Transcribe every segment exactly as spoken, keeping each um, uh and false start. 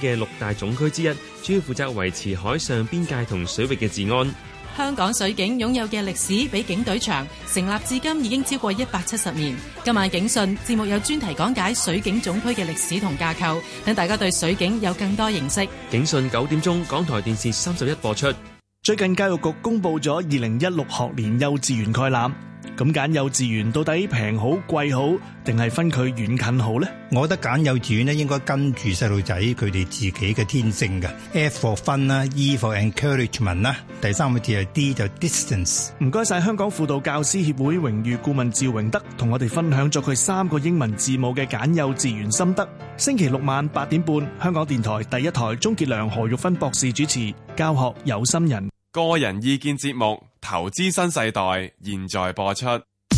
嘅六大總區之一，主要負責維持海上邊界同水域嘅治安。 香港水警擁有嘅歷史比警隊長，成立至今已經超過一百七十年。今晚警訊節目有專題講解水警總區嘅歷史同架構，等大家對水警有更多認識。 警訊九點鐘，港台電視三十一播出。 最近教育局公布咗二零一六學年幼稚園概覽，咁揀幼稚園到底平好貴好，定係分佢遠近好呢？ 我覺得揀幼稚園咧應該跟住細路仔佢哋自己嘅天性嘅。F for fun 啦，E for encouragement 啦，第三個字係 D 就 distance。 唔該晒香港輔導教師協會榮譽顧問趙榮德同我哋分享咗佢三個英文字母嘅揀幼稚園心得。星期六晚八點半，香港電台第一台，鍾傑良、何玉芬博士主持，教學有心人。 個人意見節目《投資新世代》現在播出。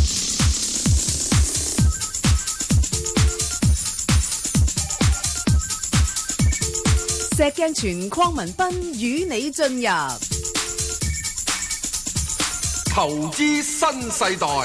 石鏡泉、鄺民彬與你進入《 投資新世代》。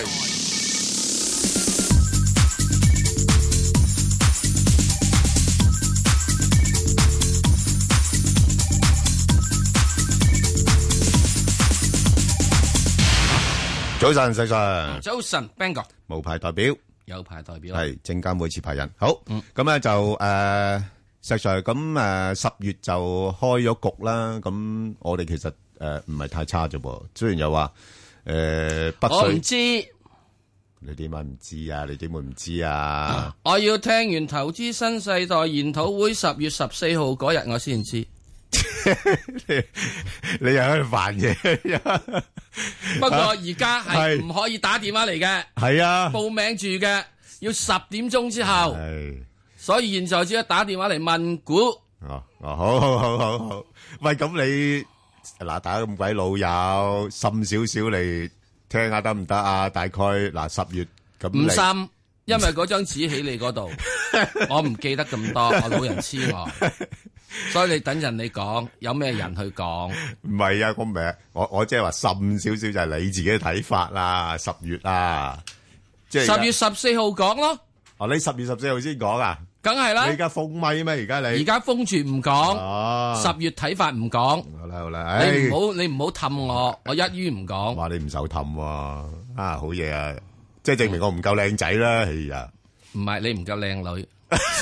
早晨，石 Sir。 早晨 ，Bang 哥。 無牌代表。 有牌代表。 係證監會持牌人。好。 嗯。 咁咧就誒，石 Sir 咁誒十月就開咗局啦。咁我哋其實誒唔係太差啫噃。雖然又話誒北水。 我唔知。 你點解唔知啊？你點會唔知啊？ 我要聽完投資新世代研討會十月十四號嗰日，我先知。 你你又喺度煩嘢。 不過而家係唔可以打電話嚟嘅， 係啊， 報名住嘅要十點鐘之後，所以現在只係打電話嚟問股。 哦哦，好好好好好，喂，咁你嗱打咁鬼老友，深少少嚟聽下得唔得啊？大概嗱十月咁， 唔深，因為嗰張紙喺你嗰度，我唔記得咁多，我老人痴呆。所以你等陣你講，有咩人去講？ 唔係啊，我唔係，我我即係話滲少少就係你自己嘅睇法啦。十月啊，即係十月十四號講咯。 哦，你十月十四號先講啊？ 梗係啦。 你而家封咪咩？而家你而家封住唔講。 哦， 十月睇法唔講。 好啦好啦， 你唔好你唔好氹我，我一於唔講。 話你唔受氹喎，啊好嘢啊！即係證明我唔夠靚仔啦，係呀。 唔係你唔夠靚女。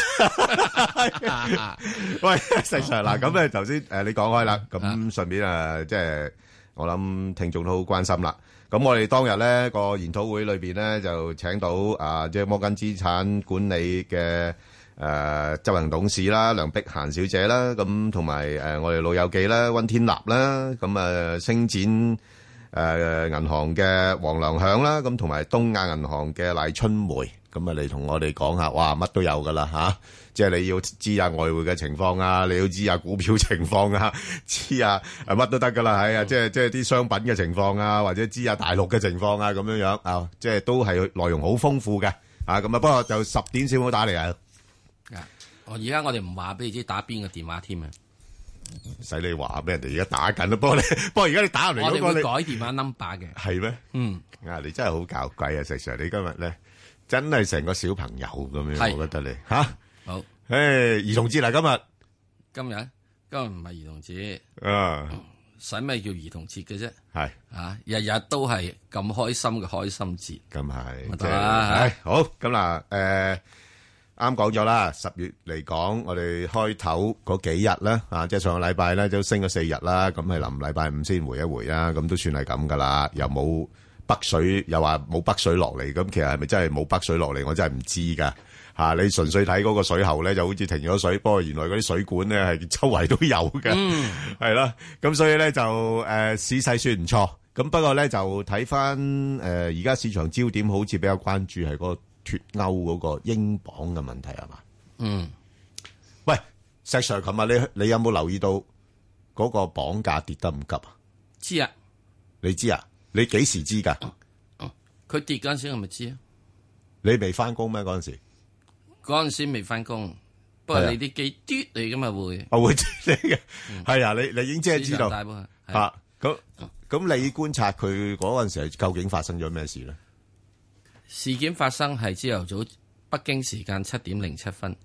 喂，石 Sir 嗱，咁咧頭先誒你講開啦，咁順便誒即係我諗聽眾都好關心啦。咁我哋當日咧個研討會裏邊咧就請到啊即係摩根資產管理嘅誒執行董事啦梁碧嫻小姐啦，咁同埋誒我哋老友記啦溫天立啦，咁啊星展誒銀行嘅黃良響啦，咁同埋東亞銀行嘅賴春梅。咁啊，嚟同我哋講下，哇，乜都有噶啦吓，即係你要知下外匯嘅情況啊，你要知下股票情況啊，知下誒乜都得噶啦，係啊，即係即係啲商品嘅情況啊，或者知下大陸嘅情況啊，咁樣樣啊，即係都係內容好豐富嘅啊，咁啊，不過就十點先好打嚟啊。 我而家我哋唔話俾你知打邊個電話添啊， 使你話俾人哋而家打緊啦，不過你不過而家你打入嚟嗰個， 我哋會改電話 number 嘅。 係咩？嗯，啊，你真係好搞鬼啊，石 Sir，你今日咧。真係成個小朋友咁樣，我覺得你吓好。 誒，兒童節啦，今日今日今日唔係兒童節啊， 使咩叫兒童節嘅啫？ 係啊，日日都係咁開心嘅開心節， 咁係得啦。 好咁嗱，誒，啱講咗啦，十月嚟講，我哋開頭嗰幾日咧，啊，即係上個禮拜咧都升咗四日啦，咁係臨禮拜五先回一回啊，咁都算係咁噶啦，又冇。北水又話冇北水落嚟，咁其實係咪真係冇北水落嚟？我真係唔知噶嚇。你純粹睇嗰個水喉咧，就好似停咗水，不過原來嗰啲水管咧係周圍都有嘅，係啦、嗯。咁所以咧就誒、呃、市勢算唔錯。咁不過咧就睇翻誒而家市場焦點好似比較關注係嗰個脱歐嗰個英鎊嘅問題係嘛？嗯。喂，石 Sir，琴日你你有冇留意到嗰個鎊價跌得咁急啊？ 知啊， 你知啊？你幾時知噶？ 佢跌嗰陣時我咪知啊。 你未翻工咩？嗰陣時嗰陣時未翻工，不過你啲機嘟你咁啊會， 我會知你嘅，係啊，你你已經即係知道吓。 咁咁你觀察佢嗰陣時係究竟發生咗咩事咧？ 事件發生係朝頭早北京時間七點零七分，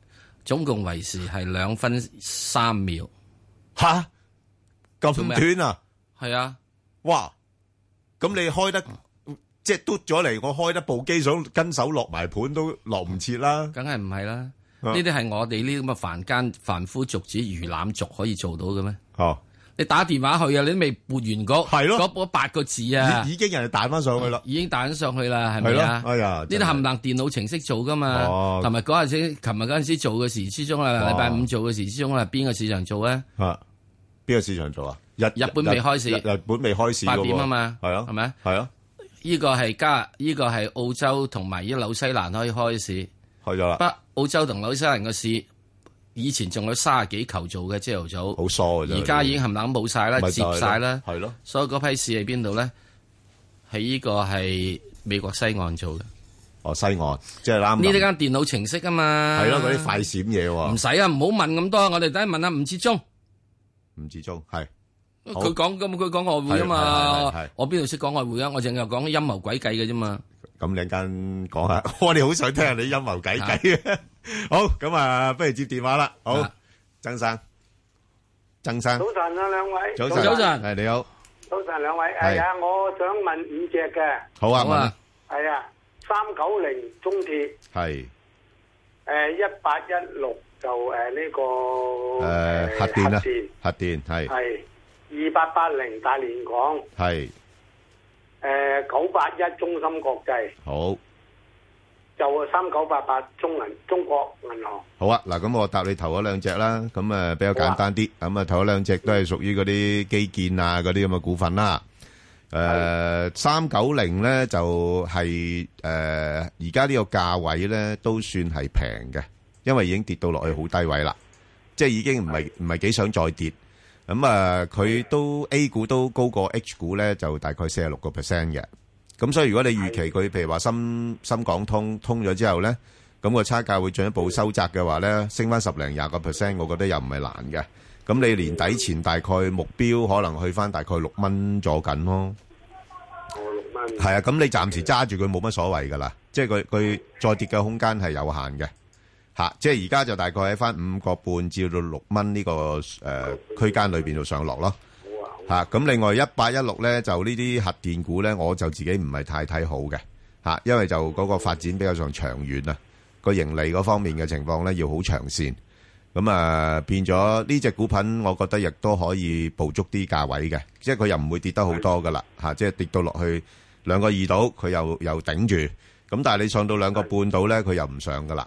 總共維持係兩分三秒。 吓咁短啊？ 係啊， 哇！咁你開得即係嘟咗嚟，我開得部機想跟手落埋盤都落唔切啦。 梗係唔係啦？呢啲係我哋呢啲咁嘅凡間凡夫俗子魚腩族可以做到嘅咩？ 哦， 你打電話去啊，你都未撥完嗰係咯嗰八個字啊， 已經人哋彈翻上去啦， 已經彈咗上去啦，係咪啊？ 哎呀， 呢啲冚唪唥電腦程式做噶嘛？同埋嗰陣時，琴日嗰陣時做嘅時之中啊，禮拜五做嘅時之中啊，邊個市場做咧？ 啊，邊個市場做啊？日日本未開市， 日本未開市， 八點啊嘛， 係啊， 係咪？ 係啊， 呢個係加，呢個係澳洲同埋呢紐西蘭可以開市， 開咗啦。 不，澳洲同紐西蘭嘅市以前仲有卅幾球做嘅朝頭早， 好疏嘅啫。 而家已經冚唪唥冇晒啦，接晒啦， 係咯。 所以嗰批市喺邊度咧？喺呢個係美國西岸做嘅。 哦，西岸即係啱。 呢啲間電腦程式啊嘛。 係咯，嗰啲快閃嘢喎。 唔使啊，唔好問咁多，我哋等下問下吳志忠。 吳志忠係。 佢講咁，佢講外匯啊嘛，我邊度識講外匯啊？我淨係講陰謀詭計嘅啫嘛。 咁你陣間講下，我哋好想聽下你陰謀詭計啊！好，咁啊，不如接電話啦。好，曾生，曾生， 早晨啊，兩位。 早晨，早晨，係你好。 早晨，兩位。係啊，我想問五隻嘅。 好啊，問啊。 係啊，三九零中鐵。 係。 誒，一八一六就誒呢個誒核電啦，核電係。 係。二八八零大連港係， 誒九八一中芯國際好， 就三九八八中銀中國銀行好啊。嗱，咁我答你頭嗰兩隻啦，咁誒比較簡單啲，咁啊頭嗰兩隻都係屬於嗰啲基建啊嗰啲咁嘅股份啦。誒三九零咧就係誒而家呢個價位咧都算係平嘅，因為已經跌到落去好低位啦，即係已經唔係唔係幾想再跌。咁啊，佢都 A 股都高過 H 股咧，就大概四十六個 percent 嘅。咁所以如果你預期佢譬如話深深港通通咗之後咧，咁個差價會進一步收窄嘅話咧，升翻十零廿個 percent，我覺得又唔係難嘅。咁你年底前大概目標可能去翻大概六蚊左緊咯。 哦，六蚊。 係啊，咁你暫時揸住佢冇乜所謂噶啦，即係佢佢再跌嘅空間係有限嘅。吓，即係而家就大概喺翻五個半至到六蚊呢個誒區間裏邊度上落咯。吓，咁另外一八一六咧就呢啲核電股咧，我就自己唔係太睇好嘅吓，因為就嗰個發展比較上長遠啊，個盈利嗰方面嘅情況咧要好長線。咁啊變咗呢隻股份，我覺得亦都可以捕捉啲價位嘅，即係佢又唔會跌得好多噶啦吓，即係跌到落去兩個二度，佢又又頂住。咁但係你上到兩個半度咧，佢又唔上噶啦。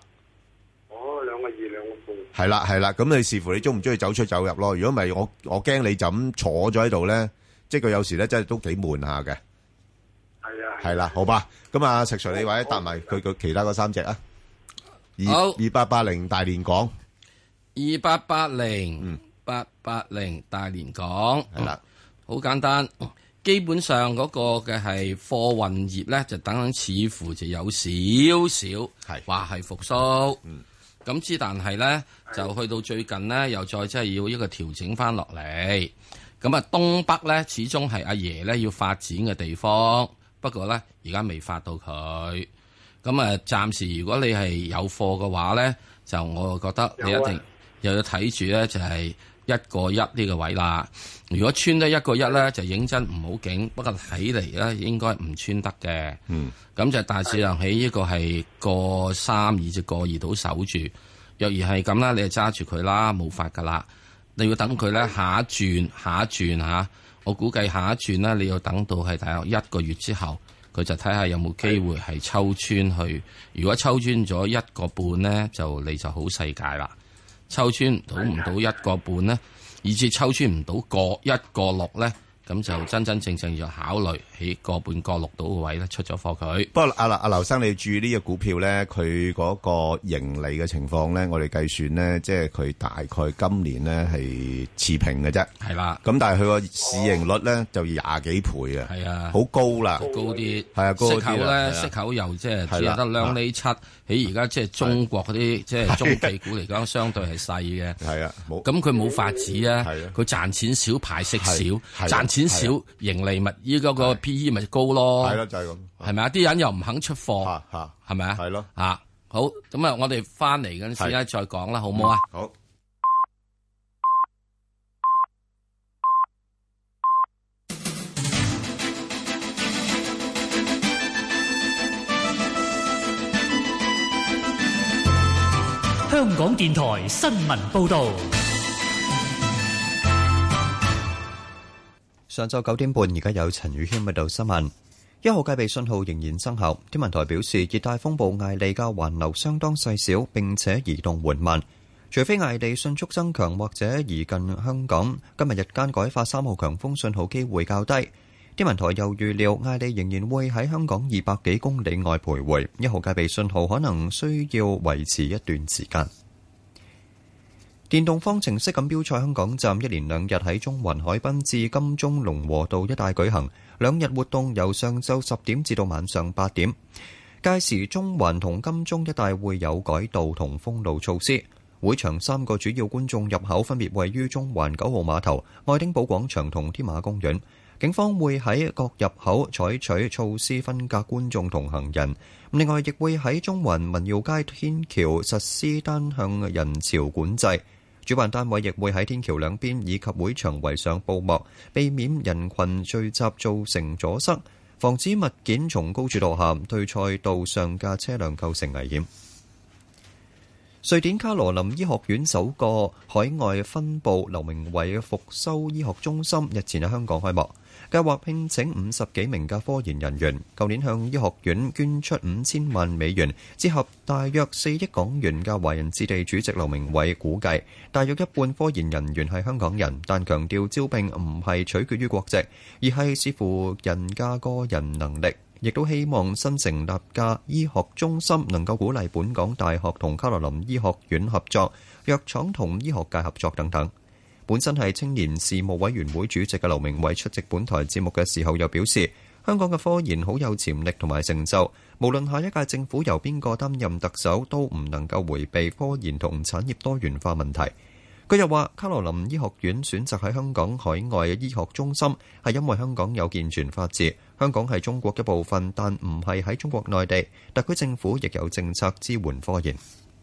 係啦，係啦，咁你視乎你中唔中意走出走入咯。如果唔係，我我驚你就咁坐咗喺度咧，即係佢有時咧真係都幾悶下嘅。 係啊。 係啦，好吧。咁啊，石 Sir 你或者答埋佢佢其他嗰三隻啊。 好。 二八八零大連港。 二八八零，八八零大連港。 係啦， 好簡單。基本上嗰個嘅係貨運業咧，就等等似乎就有少少係話係復甦。嗯。咁之，但係咧就去到最近咧，又再即係要一個調整翻落嚟。咁啊，東北咧始終係阿爺咧要發展嘅地方，不過咧而家未發到佢。咁啊，暫時如果你係有貨嘅話咧，就我覺得你一定又要睇住咧，就係一個一呢個位啦。如果穿得一個一咧，就認真唔好勁。不過睇嚟咧，應該唔穿得嘅。嗯。咁就大致上喺呢個係個三二至個二度守住。若然係咁啦，你就揸住佢啦，冇法噶啦。你要等佢咧下一轉，下一轉嚇。我估計下一轉咧，你要等到係大約一個月之後，佢就睇下有冇機會係抽穿去。如果抽穿咗一個半咧，就你就好世界啦。抽穿唔到唔到一個半咧，以至抽穿唔到個一個六咧，咁就真真正正要考慮喺個半個六度嘅位咧出咗貨佢。 不過阿阿劉生，你注意呢個股票咧，佢嗰個盈利嘅情況咧，我哋計算咧，即係佢大概今年咧係持平嘅啫。 係啦。 咁但係佢個市盈率咧就廿幾倍啊。 係啊。 好高啦。 高啲。 係啊，高啲。 息口咧，息口又即係只係得兩厘七。喺而家即係中國嗰啲即係中企股嚟講，相對係細嘅。 係啊。冇。 咁佢冇法子啊。係啊。佢賺錢少，派息少，賺錢少，盈利咪依嗰個 P E 咪高咯。 係咯，就係咁。 係咪啊？啲人又唔肯出貨。係咪啊？ 係咯。 啊。 好，咁啊，我哋翻嚟嗰陣時咧再講啦，好唔好啊？ 好。 香港電台新聞報道。 上晝九點半，而家有陳宇軒報道新聞。一號戒備信號仍然生效。天文台表示，熱帶風暴艾利嘅環流相當細小，並且移動緩慢。除非艾利迅速增強或者移近香港，今日日間改發三號強風信號機會較低。天文台又預料艾利仍然會喺香港二百幾公里外徘徊，一號戒備信號可能需要維持一段時間。電動方程式錦標賽香港站一連兩日喺中環海濱至金鐘龍和道一帶舉行，兩日活動由上晝十點至到晚上八點。屆時中環同金鐘一帶會有改道同封路措施。會場三個主要觀眾入口分別位於中環九號碼頭、愛丁堡廣場同添馬公園。警方會喺各入口採取措施分隔觀眾同行人，另外亦會喺中環民耀街天橋實施單向人潮管制。主辦單位亦會喺天橋兩邊以及會場圍上布幕，避免人群聚集造成阻塞，防止物件從高處墮下，對賽道上嘅車輛構成危險。瑞典卡羅琳醫學院首個海外分部劉明偉復修醫學中心日前喺香港開幕，計劃聘請五十幾名嘅科研人員。舊年向醫學院捐出五千萬美元，折合大約四億港元嘅華人置地主席劉明偉估計，大約一半科研人員係香港人，但強調招聘唔係取決於國籍，而係視乎人嘅個人能力。亦都希望新成立嘅醫學中心能夠鼓勵本港大學同卡羅琳醫學院合作、藥廠同醫學界合作等等。本身係青年事務委員會主席嘅劉明偉出席本台節目嘅時候又表示，香港嘅科研好有潛力同埋成就，無論下一屆政府由邊個擔任特首，都唔能夠迴避科研同產業多元化問題。佢又話，卡羅琳醫學院選擇喺香港海外醫學中心，係因為香港有健全法治，香港係中國一部分，但唔係喺中國內地。特區政府亦有政策支援科研。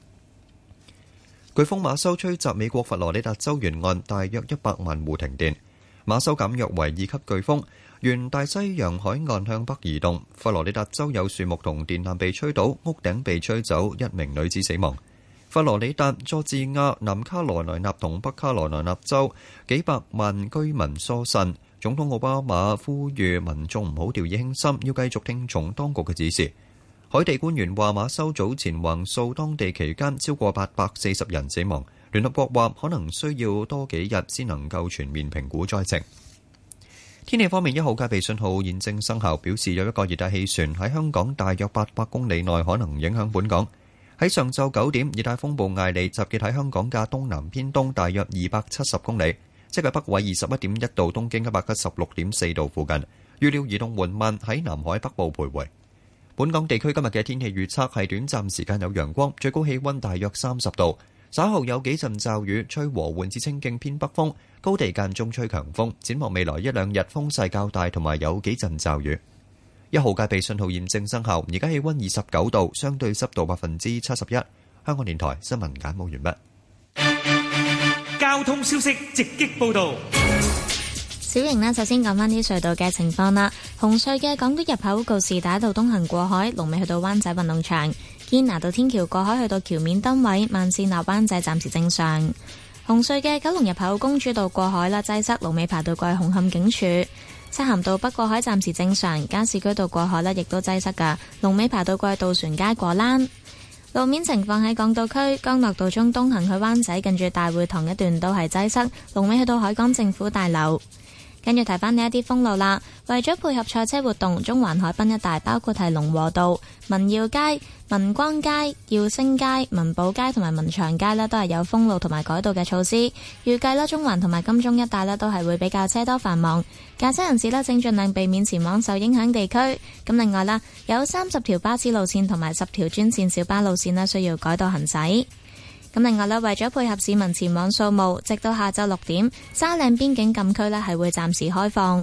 颶風馬修吹襲美國佛羅里達州沿岸，大約一百萬戶停電。馬修減弱為二級颶風，沿大西洋海岸向北移動。佛羅里達州有樹木同電纜被吹倒，屋頂被吹走，一名女子死亡。佛羅里達、佐治亞、南卡羅來納同北卡羅來納州幾百萬居民疏散。總統奧巴馬呼籲民眾唔好掉以輕心，要繼續聽從當局嘅指示。海地官員話，馬修早前橫掃當地期間，超過八百四十人死亡。聯合國話可能需要多幾日先能夠全面評估災情。天氣方面，一號戒備信號現正生效，表示有一個熱帶氣旋喺香港大約八百公里內可能影響本港。喺上晝九點，熱帶風暴艾利集結喺香港嘅東南偏東大約二百七十公里，即係北緯二十一點一度、東經一百一十六點四度附近。預料移動緩慢喺南海北部徘徊。本港地區今日嘅天氣預測係短暫時間有陽光，最高氣溫大約三十度。稍後有幾陣驟雨，吹和緩至清勁偏北風，高地間中吹強風。展望未來一兩日風勢較大，同埋有幾陣驟雨。一號戒備信號現正生效，而家氣溫二十九度，相對濕度百分之七十一。香港電台新聞簡報完畢。交通消息直擊報道。 小瑩呢，首先講返啲隧道嘅情況啦。紅隧嘅港島入口告士打道東行過海，龍尾去到灣仔運動場；堅拿道天橋過海去到橋面燈位，慢線落灣仔暫時正常。紅隧嘅九龍入口公主道過海啦，擠塞，龍尾排到過去紅磡警署。漆咸道北過海暫時正常，加士居道過海呢亦都擠塞噶，龍尾排到過去渡船街過欄。路面情況喺港島區，江樂道中東行去灣仔近住大會堂一段都係擠塞，龍尾去到海港政府大樓。跟住提翻呢一啲封路啦，為咗配合賽車活動，中環海濱一帶包括係龍和道、民耀街、民光街、耀星街、民寶街同埋民祥街呢都係有封路同埋改道嘅措施。預計啦，中環同埋金鐘一帶呢都係會比較車多繁忙，駕駛人士呢請盡量避免前往受影響地區。咁另外啦，有三十條巴士路線同埋十條專線小巴路線呢需要改道行駛。咁另外咧，為咗配合市民前往掃墓，直到下晝六點，沙嶺邊境禁區咧係會暫時開放。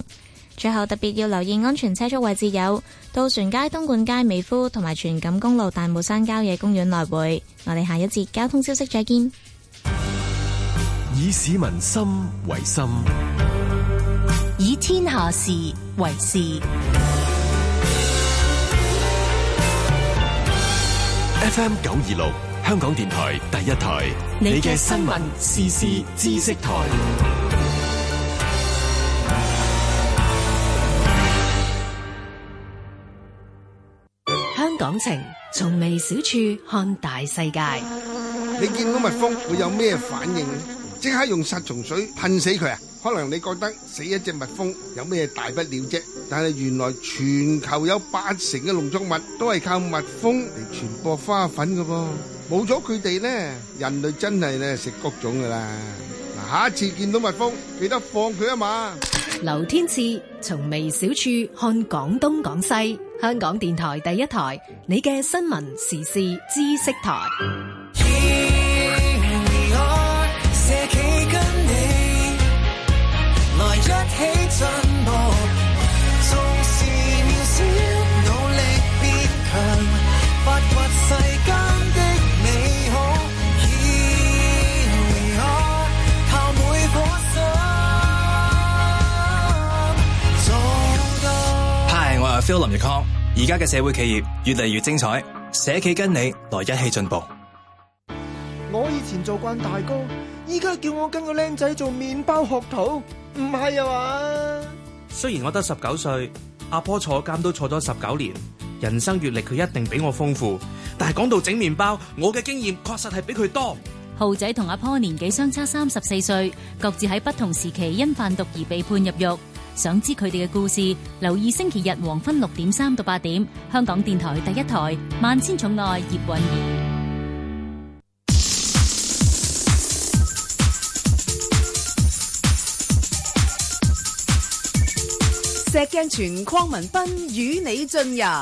最後特別要留意安全車速位置有渡船街、東莞街、美孚同埋荃錦公路大帽山郊野公園來回。我哋下一節交通消息再見。 以市民心為心， 以天下事為事。 F M 九二六香港電台第一台，你嘅新聞時事知識台。 香港情，從微小處看大世界。 你見到蜜蜂會有咩反應？即刻用殺蟲水噴死佢啊！可能你覺得死一隻蜜蜂有咩大不了啫，但係原來全球有八成嘅農作物都係靠蜜蜂嚟傳播花粉㗎噃。冇咗佢哋呢，人類真係咧食谷種噶啦。嗱，下一次見到蜜蜂，記得放佢啊嘛。 劉天賜從微小處看廣東廣西，香港電台第一台，你嘅新聞時事知識台。來一起進步，縱是渺小，努力別強，發掘世間的美好。Here we are，靠每顆心做到。 Hi，我係 Phil 林奕康。而家嘅社會企業越嚟越精彩，社企跟你來一起進步。 我以前做慣大哥，依家叫我跟個僆仔做麵包學徒。唔係啊嘛！ 雖然我得十九歲，阿婆坐監都坐咗十九年，人生閱歷佢一定比我豐富。但係講到整麵包，我嘅經驗確實係比佢多。 浩仔同阿婆年紀相差三十四歲，各自喺不同時期因販毒而被判入獄。想知佢哋嘅故事，留意星期日黃昏六點三到八點，香港電台第一台《萬千寵愛葉蘊儀》。 石鏡泉鄺民彬與你進入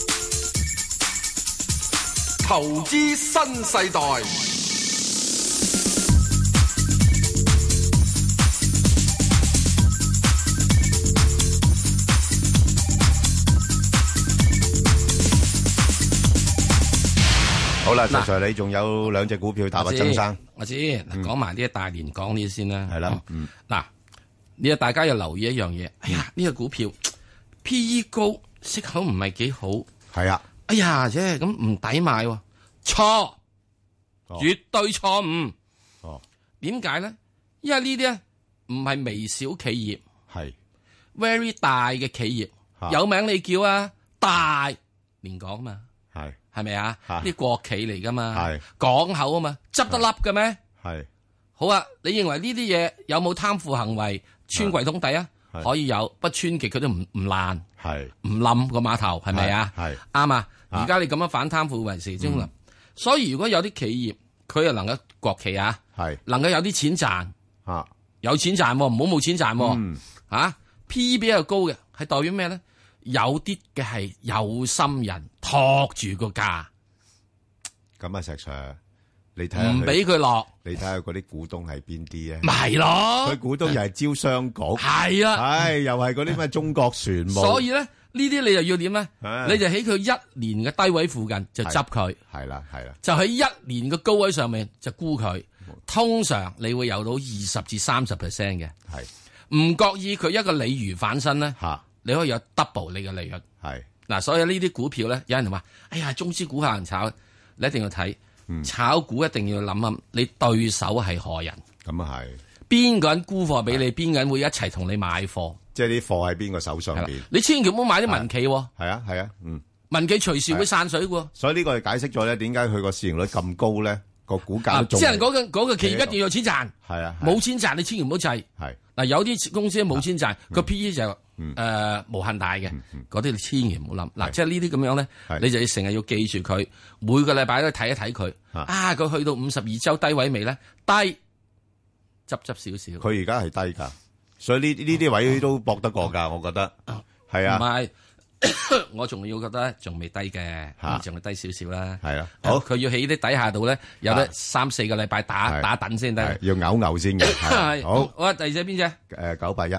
投資新世代。 好啦，石 Sir， 你仲有兩隻股票打不曾生？ 我知，嗱，講埋啲大連港呢啲先啦。 係啦，嗯， 嗱。你啊，大家要留意一樣嘢。哎呀，呢、這個股票 P E 高，息口唔係幾好。 係啊。 哎呀，啫咁唔抵買喎。錯，哦、絕對錯誤。 哦。點解咧？因為呢啲咧唔係微小企業， 係 very 大嘅企業，啊、有名你叫啊，大連港嘛。係。係咪啊？啲國企嚟噶嘛。係。港口啊嘛，執得笠嘅咩？係。好啊，你認為呢啲嘢有冇貪腐行為？穿櫃桶底啊，可以有，不穿極佢都唔唔爛，係唔冧個碼頭，係咪啊？係啱啊！而家你咁樣反貪腐為時中啦，所以如果有啲企業佢又能夠國企啊，係能夠有啲錢賺，啊有錢賺，唔好冇錢賺，啊 P E 比較高嘅係代表咩咧？有啲嘅係有心人托住個價， 咁啊石 Sir。你睇下唔俾佢落， 你睇下嗰啲股東係邊啲啊？ 咪係咯， 佢股東又係招商局， 係啊， 唉，又係嗰啲咩中國船務。 所以咧，呢啲你就要點咧？你就喺佢一年嘅低位附近就執佢， 係啦係啦， 就喺一年嘅高位上面就沽佢。通常你會有到二十至三十 percent 嘅，係唔覺意佢一個鯉魚反身咧，吓你可以有 double 你嘅利潤。係嗱，所以呢啲股票咧，有人話：哎呀，中資股可能炒，你一定要睇。炒股一定要諗諗，你對手係何人？ 咁啊係， 邊個人沽貨俾你，邊個人會一齊同你買貨？ 即係啲貨喺邊個手上邊？ 你千祈唔好買啲民企。係啊係啊，嗯， 民企隨時會散水嘅。 所以呢個係解釋咗咧，點解佢個市盈率咁高咧？個股價即係嗰個嗰個企業一定要有錢賺。 係啊， 冇錢賺你千祈唔好制。係嗱，有啲公司冇錢賺，個 P E 就誒無限大嘅，嗰啲你千祈唔好諗。嗱，即係呢啲咁樣咧，你就要成日要記住佢，每個禮拜都睇一睇佢。啊，佢去到五十二周低位未咧？低，執執少少。 佢而家係低㗎，所以呢呢啲位都搏得過㗎，我覺得係啊。 唔係，我仲要覺得仲未低嘅，仲係低少少啦。 係啊，好， 佢要喺啲底下度咧，有得三四個禮拜打打等先得， 要嘔嘔先嘅。 係好，好啊，第二隻邊隻？ 誒，九八一。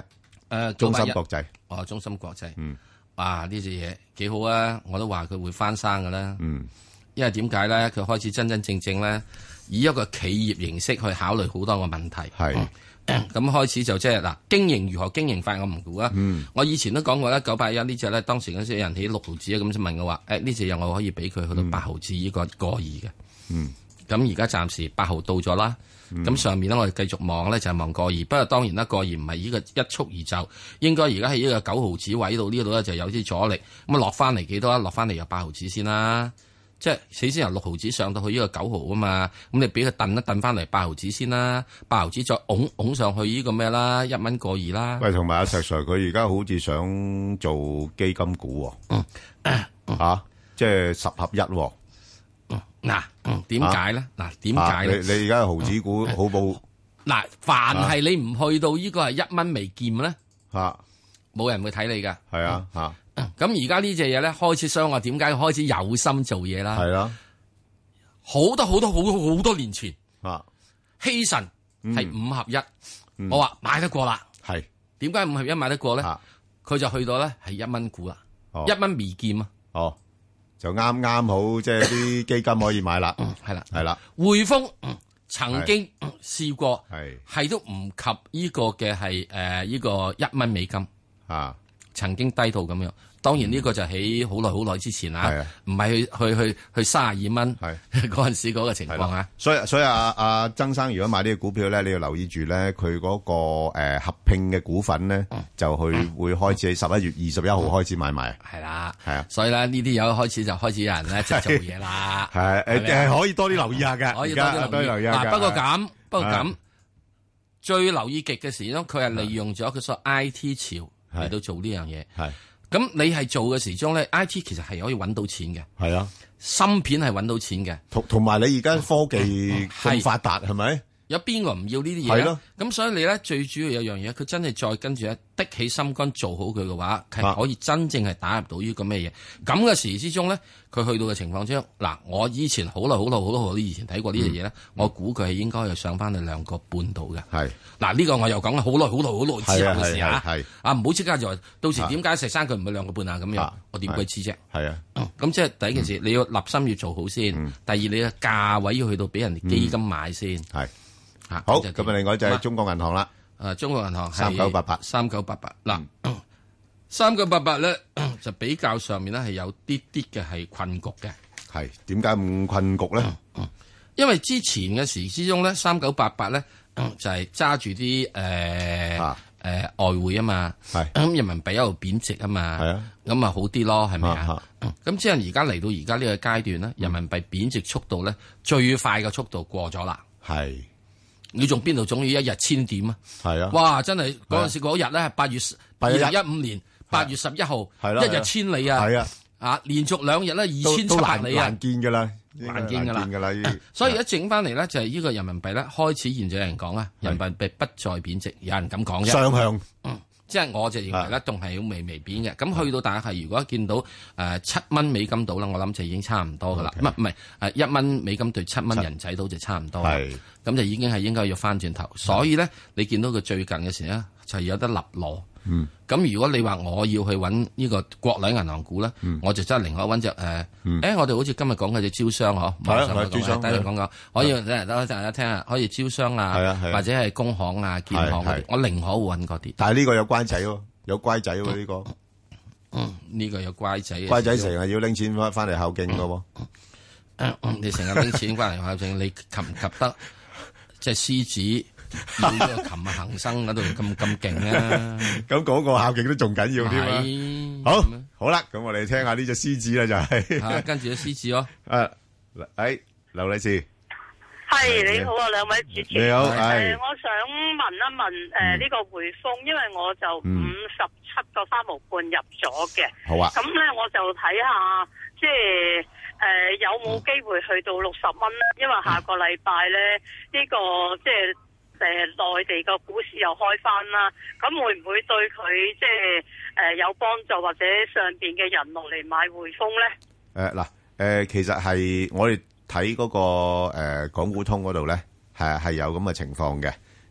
誒中芯國際， 哦，中芯國際， 嗯， 哇呢隻嘢幾好啊！我都話佢會翻生噶啦， 嗯， 因為點解咧？佢開始真真正正咧，以一個企業形式去考慮好多個問題， 係咁開始就即係嗱，經營如何經營法我唔估啊。 嗯，我以前都講過啦，九八一呢隻咧，當時嗰時有人起六毫子啊，咁就問我話，誒呢隻嘢我可以俾佢去到八毫子呢個個二嘅， 嗯， 咁而家暫時八毫到咗啦。咁、嗯、上面咧，我哋繼續望咧，就係望個二。不過當然啦，個二唔係呢個一蹴而就，應該而家喺呢個九毫子位度呢度咧就有啲阻力。咁啊落翻嚟幾多啊？落翻嚟有八毫子先啦。即係死先由六毫子上到去呢個九毫啊嘛。咁你俾佢燉一燉翻嚟八毫子先啦，八毫子再拱拱上去呢個咩啦？一蚊個二啦。 喂，同埋阿石 Sir 佢而家好似想做基金股喎、 嗯嗯嗯啊，即係十合一喎。 嗱，點解咧？嗱，點解咧？ 你你而家毫子股好冇？ 嗱，凡係你唔去到呢個係一蚊未見咧， 吓， 冇人會睇你噶。 係啊，吓。 咁而家呢隻嘢咧，開始傷我，點解開始有心做嘢啦？ 係啦， 好多好多好多好多年前， 啊， 希慎係五合一， 嗯、 我話買得過啦。 係， 點解五合一買得過咧？佢就去到咧係一蚊股啦，一蚊未見啊。 哦。就啱啱好，即係啲基金可以買啦， 係啦， 係啦。 匯豐曾經試過， 係係都唔及呢個嘅係誒呢個一蚊美金啊， 曾經低到咁樣。當然呢個就喺好耐好耐之前啊，唔係去去去去三十二蚊嗰陣時嗰個情況啊。 所以所以阿阿曾生如果買呢個股票咧，你要留意住咧，佢嗰個誒合併嘅股份咧，就去會開始喺十一月二十一號開始買賣。 係啦， 係啊， 所以咧呢啲有開始就開始有人咧就做嘢啦。 係誒誒，可以多啲留意下嘅， 可以多啲留意下。不過咁，不過咁，最留意極嘅時咧，佢係利用咗佢所 I T 潮嚟到做呢樣嘢。 係。 咁你係做嘅時鐘咧 ，I T 其實係可以揾到錢嘅。 係啊， 芯片係揾到錢嘅。 同同埋你而家科技咁發達，係咪？ 有邊個唔要呢啲嘢？係咯。咁所以你咧最主要有樣嘢，佢真係再跟住咧的起心肝做好佢嘅話，係可以真正係打入到呢個咩嘢？咁嘅時之中咧，佢去到嘅情況之中，嗱，我以前好耐好耐好多好多以前睇過呢樣嘢咧，嗯、我估佢係應該係上翻去兩個半度嘅。係。嗱呢個我又講好耐好耐好耐之後嘅事啊！係啊，唔好即刻就話到時點解石生佢唔係兩個半啊咁樣？我點鬼知啫？係啊。咁即係第一件事，你要立心要做好先。第二，你嘅價位要去到俾人哋基金買先。係。 好，咁啊，另外就係中國銀行啦。 誒，中國銀行三九八八， 三九八八。嗱，三九八八咧就比較上面咧係有啲啲嘅係困局嘅。 係點解咁困局咧？ 因為之前嘅時之中咧，三九八八咧就係揸住啲誒誒外匯啊嘛。係咁人民幣一路貶值啊嘛。係啊，咁啊好啲咯，係咪啊？咁即係而家嚟到而家呢個階段咧，人民幣貶值速度咧最快嘅速度過咗啦。係。你仲邊度總要一日千點啊？係啊！哇，真係嗰陣時嗰日咧，八月二零一五年八月十一號，一日千里啊！係啊！啊，連續兩日咧二千七百里啊！ 難見噶啦， 難見噶啦， 難見噶啦！ 所以一整翻嚟咧，就係呢個人民幣咧開始現在有人講啊，人民幣不再貶值，有人咁講啫。雙向。即係我就認為咧，仲係好微微貶嘅。咁去到大概係如果見到誒七蚊美金到啦，我諗就已經差唔多噶啦。唔係唔係誒一蚊美金對七蚊人仔到就差唔多。係咁就已經係應該要翻轉頭。所以咧，你見到佢最近嘅時咧，就有得立落。嗯。咁如果你話我要去揾呢個國內銀行股咧，我就真係寧可揾隻誒。誒，我哋好似今日講嘅隻招商嗬。係啊，招商。等陣講講，可以等等大家聽下，可以招商啊，或者係工行啊、建行嗰啲，我寧可揾嗰啲。 但係呢個有乖仔喎，有乖仔喎呢個。 嗯，呢個有乖仔。 乖仔成日要拎錢翻翻嚟孝敬噶喎。 你成日拎錢翻嚟孝敬，你及唔及得？即係獅子。要呢個琴日恒生嗰度咁咁勁啊！ 咁嗰個孝敬都仲緊要添啊！好，好啦，咁我哋聽下呢隻獅子啦，就係跟住隻獅子咯。 誒，誒，劉女士， 係你好啊，兩位主持。 你好， 誒，我想問一問誒呢個匯豐，因為我就五十七個三毫半入咗嘅。好啊。咁咧我就睇下，即係誒有冇機會去到六十蚊咧？因為下個禮拜咧呢個即係。誒，內地個股市又開翻啦，咁會唔會對佢即係誒有幫助，或者上邊嘅人落嚟買匯豐咧？ 誒嗱，誒其實係我哋睇嗰個誒港股通嗰度咧，係係有咁嘅情況嘅，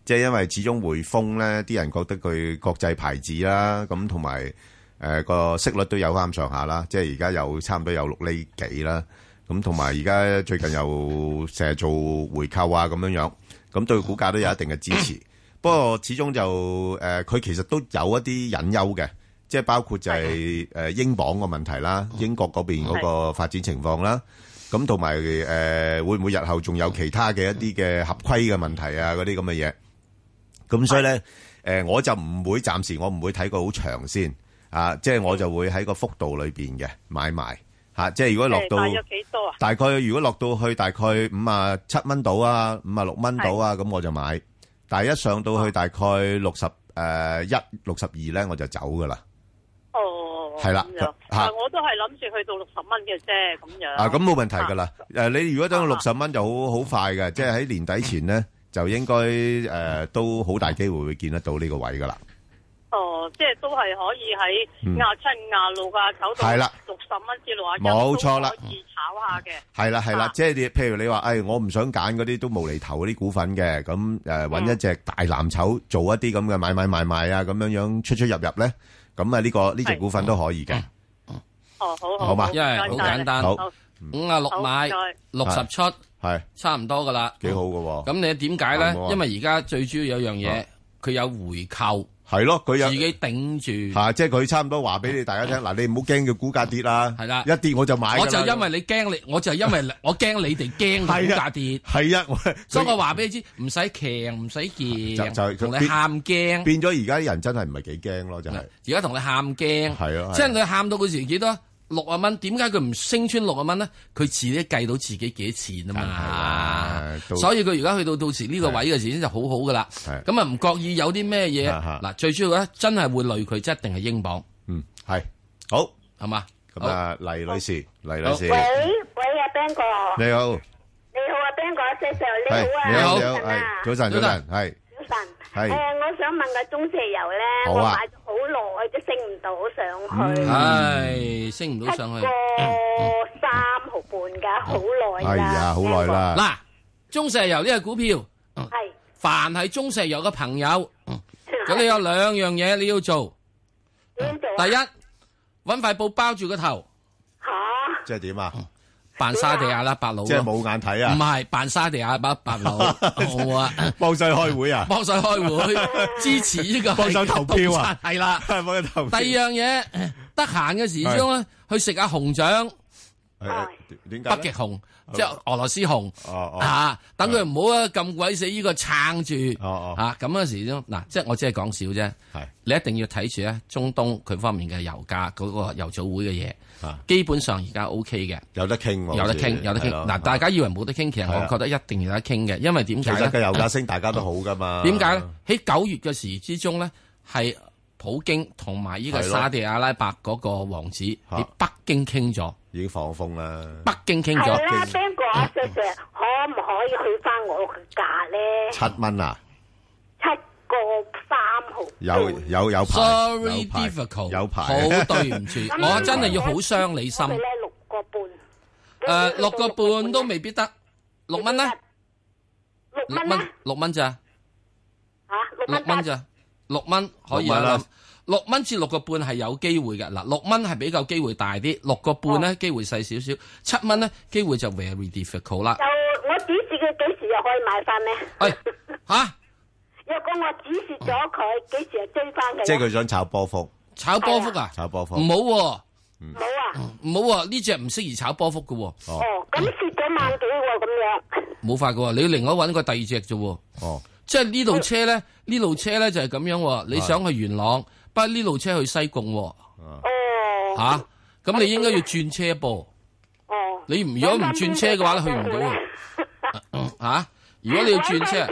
即係因為始終匯豐咧，啲人覺得佢國際牌子啦，咁同埋誒個息率都有翻上下啦，即係而家有差唔多有六厘幾啦。咁同埋而家最近又成日做回購啊咁樣樣，咁對股價都有一定嘅支持。不過始終就誒，佢、呃、其實都有一啲隱憂嘅，即係包括就係誒英鎊個問題啦，英國嗰邊嗰個發展情況啦，咁同埋誒會唔會日後仲有其他嘅一啲嘅合規嘅問題啊嗰啲咁嘅嘢。咁所以咧誒、呃，我就唔會暫時我唔會睇過好長先啊，即係我就會喺個幅度裏邊嘅買賣。吓、啊，即係如果落到大約幾多啊？大概如果落到去大概五啊七蚊到啊，五啊六蚊到啊，咁我就買。但係一上到去大概六十誒一六十二咧，我就走噶啦。哦，係啦，吓， 我都係諗住去到六十蚊嘅啫，咁樣。 啊，咁冇問題噶啦。誒、啊，你如果等到六十蚊就好好快嘅，即係喺年底前咧，就應該誒、呃、都好大機會會見得到呢個位噶啦。 哦，即係都係可以喺廿七、廿六啊，走到六十蚊至六啊一， 冇錯啦， 可以炒下嘅。係啦係啦，即係你譬如你話，誒、哎，我唔想揀嗰啲都無厘頭嗰啲股份嘅，咁誒揾一隻大藍籌做一啲咁嘅買買賣賣啊，咁樣樣出出入入咧，咁啊呢個呢隻股份都可以嘅。 哦，好好， 好嘛， 因為好簡單，好五啊六買六十出， 係差唔多噶啦， 幾好噶喎。 咁你點解咧？因為而家最主要有樣嘢，佢有回購。 係咯，佢有自己頂住， 吓，即係佢差唔多話俾你大家聽，嗱，你唔好驚佢股價跌啦， 係啦， 一跌我就買。 我就因為你驚你，我就因為我驚你哋驚股價跌， 係啊， 所以我話俾你知，唔使強，唔使驚， 就同你喊驚， 變咗而家啲人真係唔係幾驚咯，真係。 而家同你喊驚， 係啊， 即係佢喊到嗰時幾多？六啊蚊，點解佢唔升穿六啊蚊咧？佢自己計到自己幾多錢啊嘛，所以佢而家去到到時呢個位嘅時先就好好噶啦。咁啊唔覺意有啲咩嘢嗱，最主要咧真係會累佢，即一定係英鎊。 嗯，係好係嘛？ 咁啊，黎女士，黎女士， 喂喂啊 Ben 哥， 你好， 你好啊 Ben 哥，謝 Sir 你好啊， 你好你好，係早晨早晨，係早晨， 係誒，我想問個中石油咧，我買咗好耐都升唔到上去， 係升唔到上去， 七個三毫半噶，好耐啦， 係啊，好耐啦。 嗱，中石油呢個股票係，凡係中石油嘅朋友，咁你有兩樣嘢你要做，第一，搵塊布包住個頭， 吓， 即係點啊？ 扮沙地阿拉伯佬， 即係冇眼睇啊！ 唔係扮沙地阿拉伯佬，好啊！ 幫手開會啊！ 幫手開會支持呢個， 幫手投票啊！ 係啦， 幫手投票。 第二樣嘢，得閒嘅時鐘咧，去食下熊掌， 點解？ 北極熊，即係俄羅斯熊啊！等佢唔好啊咁鬼死呢個撐住啊！咁嗰時鐘嗱，即係我只係講少啫。係你一定要睇住咧，中東佢方面嘅油價嗰個油組會嘅嘢。基本上而家 O K 嘅， 有得傾， 有得傾，有得傾。嗱，大家以為冇得傾，其實我覺得一定有得傾嘅，因為點解咧？ 其實嘅油價升，大家都好噶嘛。 點解咧？喺九月嘅時之中咧，係普京同埋呢個沙地阿拉伯嗰個王子喺北京傾咗， 已經放風啦。 北京傾咗。 係啦，Ben 哥啊，石 Sir，可唔可以去翻我嘅價咧？ 七蚊啊！ 七個三毫。 有有有排 Sorry difficult， 有排， 好對唔住，我真係要好傷你心。 六個半， 誒，六個半都未必得，六蚊咧？ 六蚊， 六蚊咋？ 吓， 六蚊咋？六蚊可以啊，六蚊至六個半係有機會嘅。嗱，六蚊係比較機會大啲，六個半咧機會細少少，七蚊咧機會就 very difficult 啦。 就我指示佢幾時又可以買翻咧？ 誒，吓？ 若果我指示咗佢，幾時又追翻佢？ 即係佢想炒波幅， 炒波幅啊？ 炒波幅唔好， 冇啊， 唔好啊！呢隻唔適宜炒波幅嘅。 哦，咁蝕咗萬幾喎，咁樣。 冇法嘅，你要另外揾個第二隻啫。 哦， 即係呢路車咧，呢路車咧就係咁樣。你想去元朗，不過呢路車去西貢。哦。吓，咁你應該要轉車噃。 哦。 你唔如果唔轉車嘅話咧，去唔到。吓，如果你要轉車。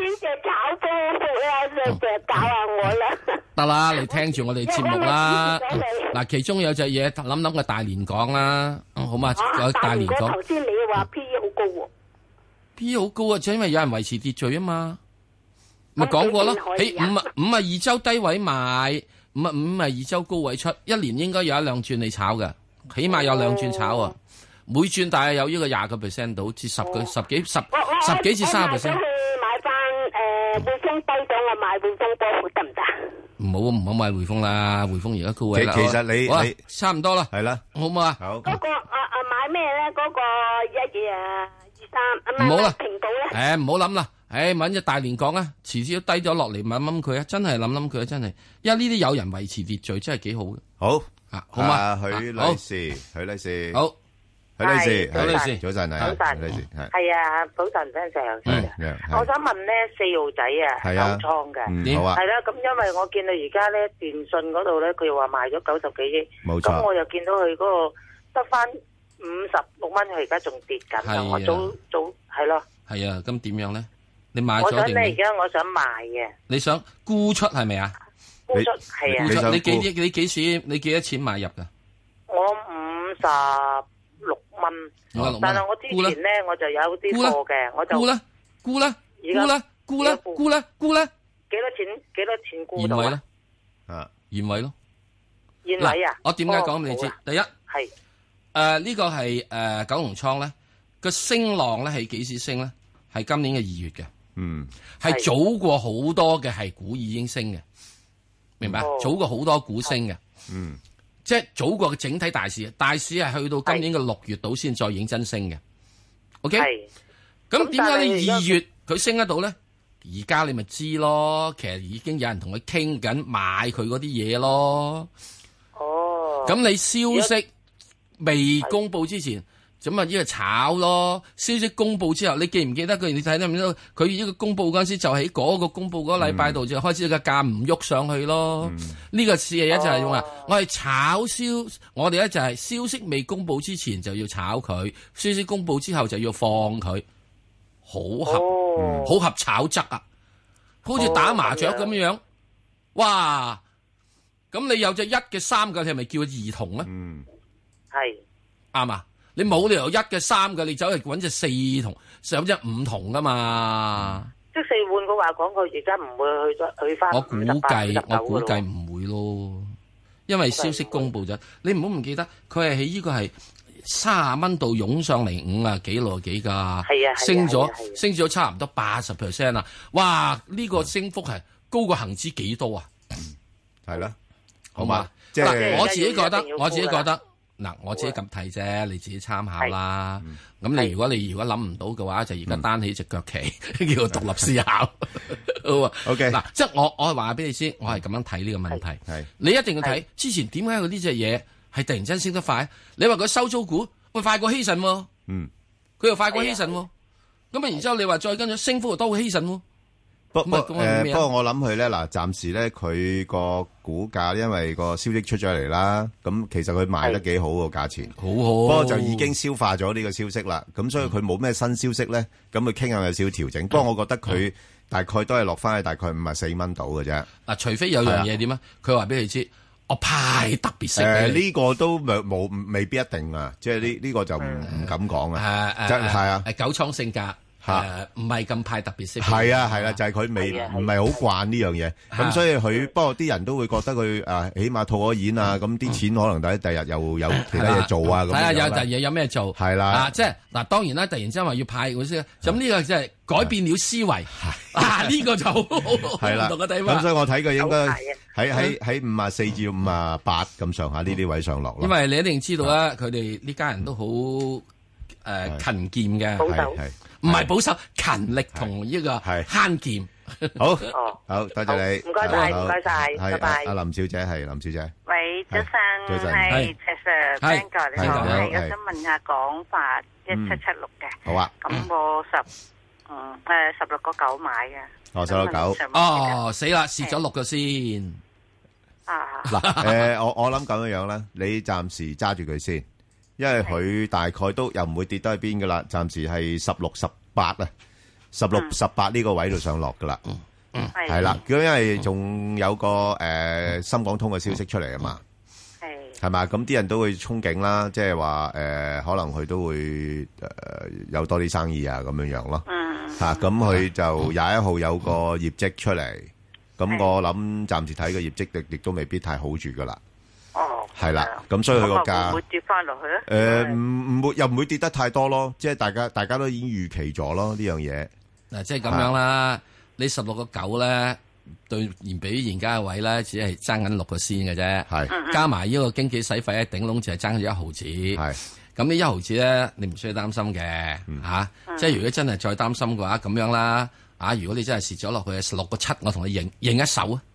就搞下我啦， 得啦，你聽住我哋節目啦。嗱，其中有隻嘢諗諗個大連港啦，好嘛？個大連港。 頭先你話 P E 好高喎 ，P E 好高啊，就因為有人維持秩序啊嘛。咪講過咯，喺五啊五啊二周低位買，五啊五啊二周高位出，一年應該有一兩轉你炒嘅，起碼有兩轉炒啊。每轉大概有呢個廿個 percent 到，至十個十幾十十幾至三十 percent。 買翻誒。 匯豐低咗，我買匯豐波幅得唔得？ 唔好唔好買匯豐啦，匯豐而家高位啦。 其其實你好你差唔多啦， 係啦， 好唔好啊？ 好。 嗰個啊啊買咩咧？嗰個一嘢啊二三， 唔好啦， 平保咧。 誒唔好諗啦，誒揾隻大連港啊，遲啲都低咗落嚟，諗諗佢啊，真係諗諗佢啊，真係，因為呢啲有人維持秩序，真係幾好嘅。 好啊，好嘛， 許女士，許女士， 好。 許女士， 許女士， 早晨啊， 早晨， 許女士係係啊，早晨，早晨，我想問咧，四號仔啊，九倉嘅， 好啊， 係啦，咁因為我見到而家咧電信嗰度咧，佢又話賣咗九十幾億， 冇錯， 咁我又見到佢嗰個得翻五十六蚊，佢而家仲跌緊啊，我早早係咯， 係啊，咁點樣咧？你買咗我想定？ 咧而家我想賣嘅， 你想沽出係咪啊？ 沽出係啊， 沽出你幾億？你幾錢？你幾多錢買入噶？ 我五十六蚊。但係我之前咧，我就有啲貨嘅，我就沽啦，沽啦，沽啦，沽啦，沽啦，沽啦， 幾多錢？幾多錢沽到啊？ 啊， 現位咯， 現位啊！ 我點解講俾你知？第一係誒呢個係誒九龍倉咧個升浪咧係幾時升咧？係今年嘅二月嘅， 嗯， 係早過好多嘅係股已經升嘅，明白？早過好多股升嘅， 嗯。 即係早過整體大市，大市係去到今年嘅六月度先再認真升嘅。OK，咁點解你二月佢升得到咧？而家你咪知咯，其實已經有人同佢傾緊買佢嗰啲嘢咯。 哦， 咁你消息未公布之前，咁啊呢個炒咯。消息公布之後，你記唔記得佢？你睇得唔睇到？佢呢個公布嗰陣時，就喺嗰個公布嗰個禮拜度就開始個價唔喐上去咯。呢、嗯、個事係一就係用啊，我係炒消，我哋咧就係消息未公布之前就要炒佢，消息公布之後就要放佢，好合，好、哦嗯、合炒則啊，好似打麻雀咁樣樣。哦、哇！咁你有隻一嘅三嘅，你係咪叫兒童咧？ 嗯， 係啱啊！你冇理由一嘅三嘅，你走去揾隻四同，上隻五同噶嘛？ 即四換嘅話講，佢而家唔會去咗去翻。 我估計，我估計唔會咯，因為消息公布咗。你唔好唔記得，佢係喺呢個係三十蚊度湧上嚟五啊幾六幾噶， 係啊， 升咗升咗差唔多八十 percent 啊！哇，呢、這個升幅係高過恒指幾多啊？ 係啦， 好嘛？即係我自己覺得，我自己覺得。嗱，我自己咁睇啫，你自己參考啦。咁、嗯、你如果你如果諗唔到嘅話，就而家單起隻腳企，嗯、叫做獨立思考。好 OK，嗱，即係我我係話俾你知，我係咁樣睇呢個問題。係你一定要睇之前點解佢呢隻嘢係突然間升得快？你話佢收租股會快過希慎喎，嗯，佢又快過希慎喎。咁啊，然之後你話再跟住升幅又多過希慎喎。 不不誒，不過我諗佢咧嗱，暫時咧佢個股價因為個消息出咗嚟啦，咁其實佢賣得幾好個價錢，好好。不過就已經消化咗呢個消息啦，咁所以佢冇咩新消息咧，咁佢傾向有少少調整。不過我覺得佢大概都係落翻去大概五十四蚊度嘅啫。嗱， 除非有樣嘢點啊？佢話俾你知，我派特別息。 誒，呢個都冇冇未必一定啊，即係呢呢個就唔唔敢講啊。 誒誒，係啊，九倉性格。誒，唔係咁派特別息， 係啊係啦，就係佢未唔係好慣呢樣嘢，咁所以佢不過啲人都會覺得佢誒，起碼套咗現啊，咁啲錢可能第第日又有其他嘢做啊，咁睇下有第二嘢有咩做，係啦，啊，即係嗱，當然啦，突然之間話要派嗰啲，咁呢個即係改變了思維，啊，呢個就好係啦，唔同嘅地方。咁所以我睇佢應該喺喺喺五啊四至五啊八咁上下呢啲位上落咯。 因為你一定知道啦，佢哋呢家人都好誒勤儉嘅，係。唔係保守，勤力同呢個慳儉。 好，好多謝你， 唔該晒，唔該晒，拜拜。 阿林小姐係林小姐。 喂，早晨， 早晨， 係石 Sir，Ben 哥，你好，係，我想問下廣發一七七六嘅。 好啊。 咁我十，嗯，誒，十六個九買嘅。 哦，十六個九。 哦，死啦，蝕咗六個先。 啊。 嗱，誒，我我諗咁樣樣啦，你暫時揸住佢先。因為佢大概都又唔會跌得去邊噶啦，暫時係十六、十八啊，十六、十八呢個位度上落噶啦，係啦。咁因為仲有個誒深港通嘅消息出嚟啊嘛，係係嘛，咁啲人都會憧憬啦，即係話誒可能佢都會誒有多啲生意啊咁樣樣咯，吓咁佢就廿一號有個業績出嚟，咁我諗暫時睇個業績亦亦都未必太好住噶啦。 哦， 係啦，咁所以佢個價會跌翻落去咧？ 誒，唔唔會，又唔會跌得太多咯。即係大家，大家都已經預期咗咯呢樣嘢。 嗱，即係咁樣啦。 你十六個九咧，對現比現家嘅位咧，只係爭緊六個仙嘅啫。係加埋呢個經紀使費咧，頂籠就係爭咗一毫子。係咁呢一毫子咧，你唔需要擔心嘅嚇、嗯啊。即係如果真係再擔心嘅話，咁樣啦。啊，如果你真係蝕咗落去十六個七，我同你認認一手啊！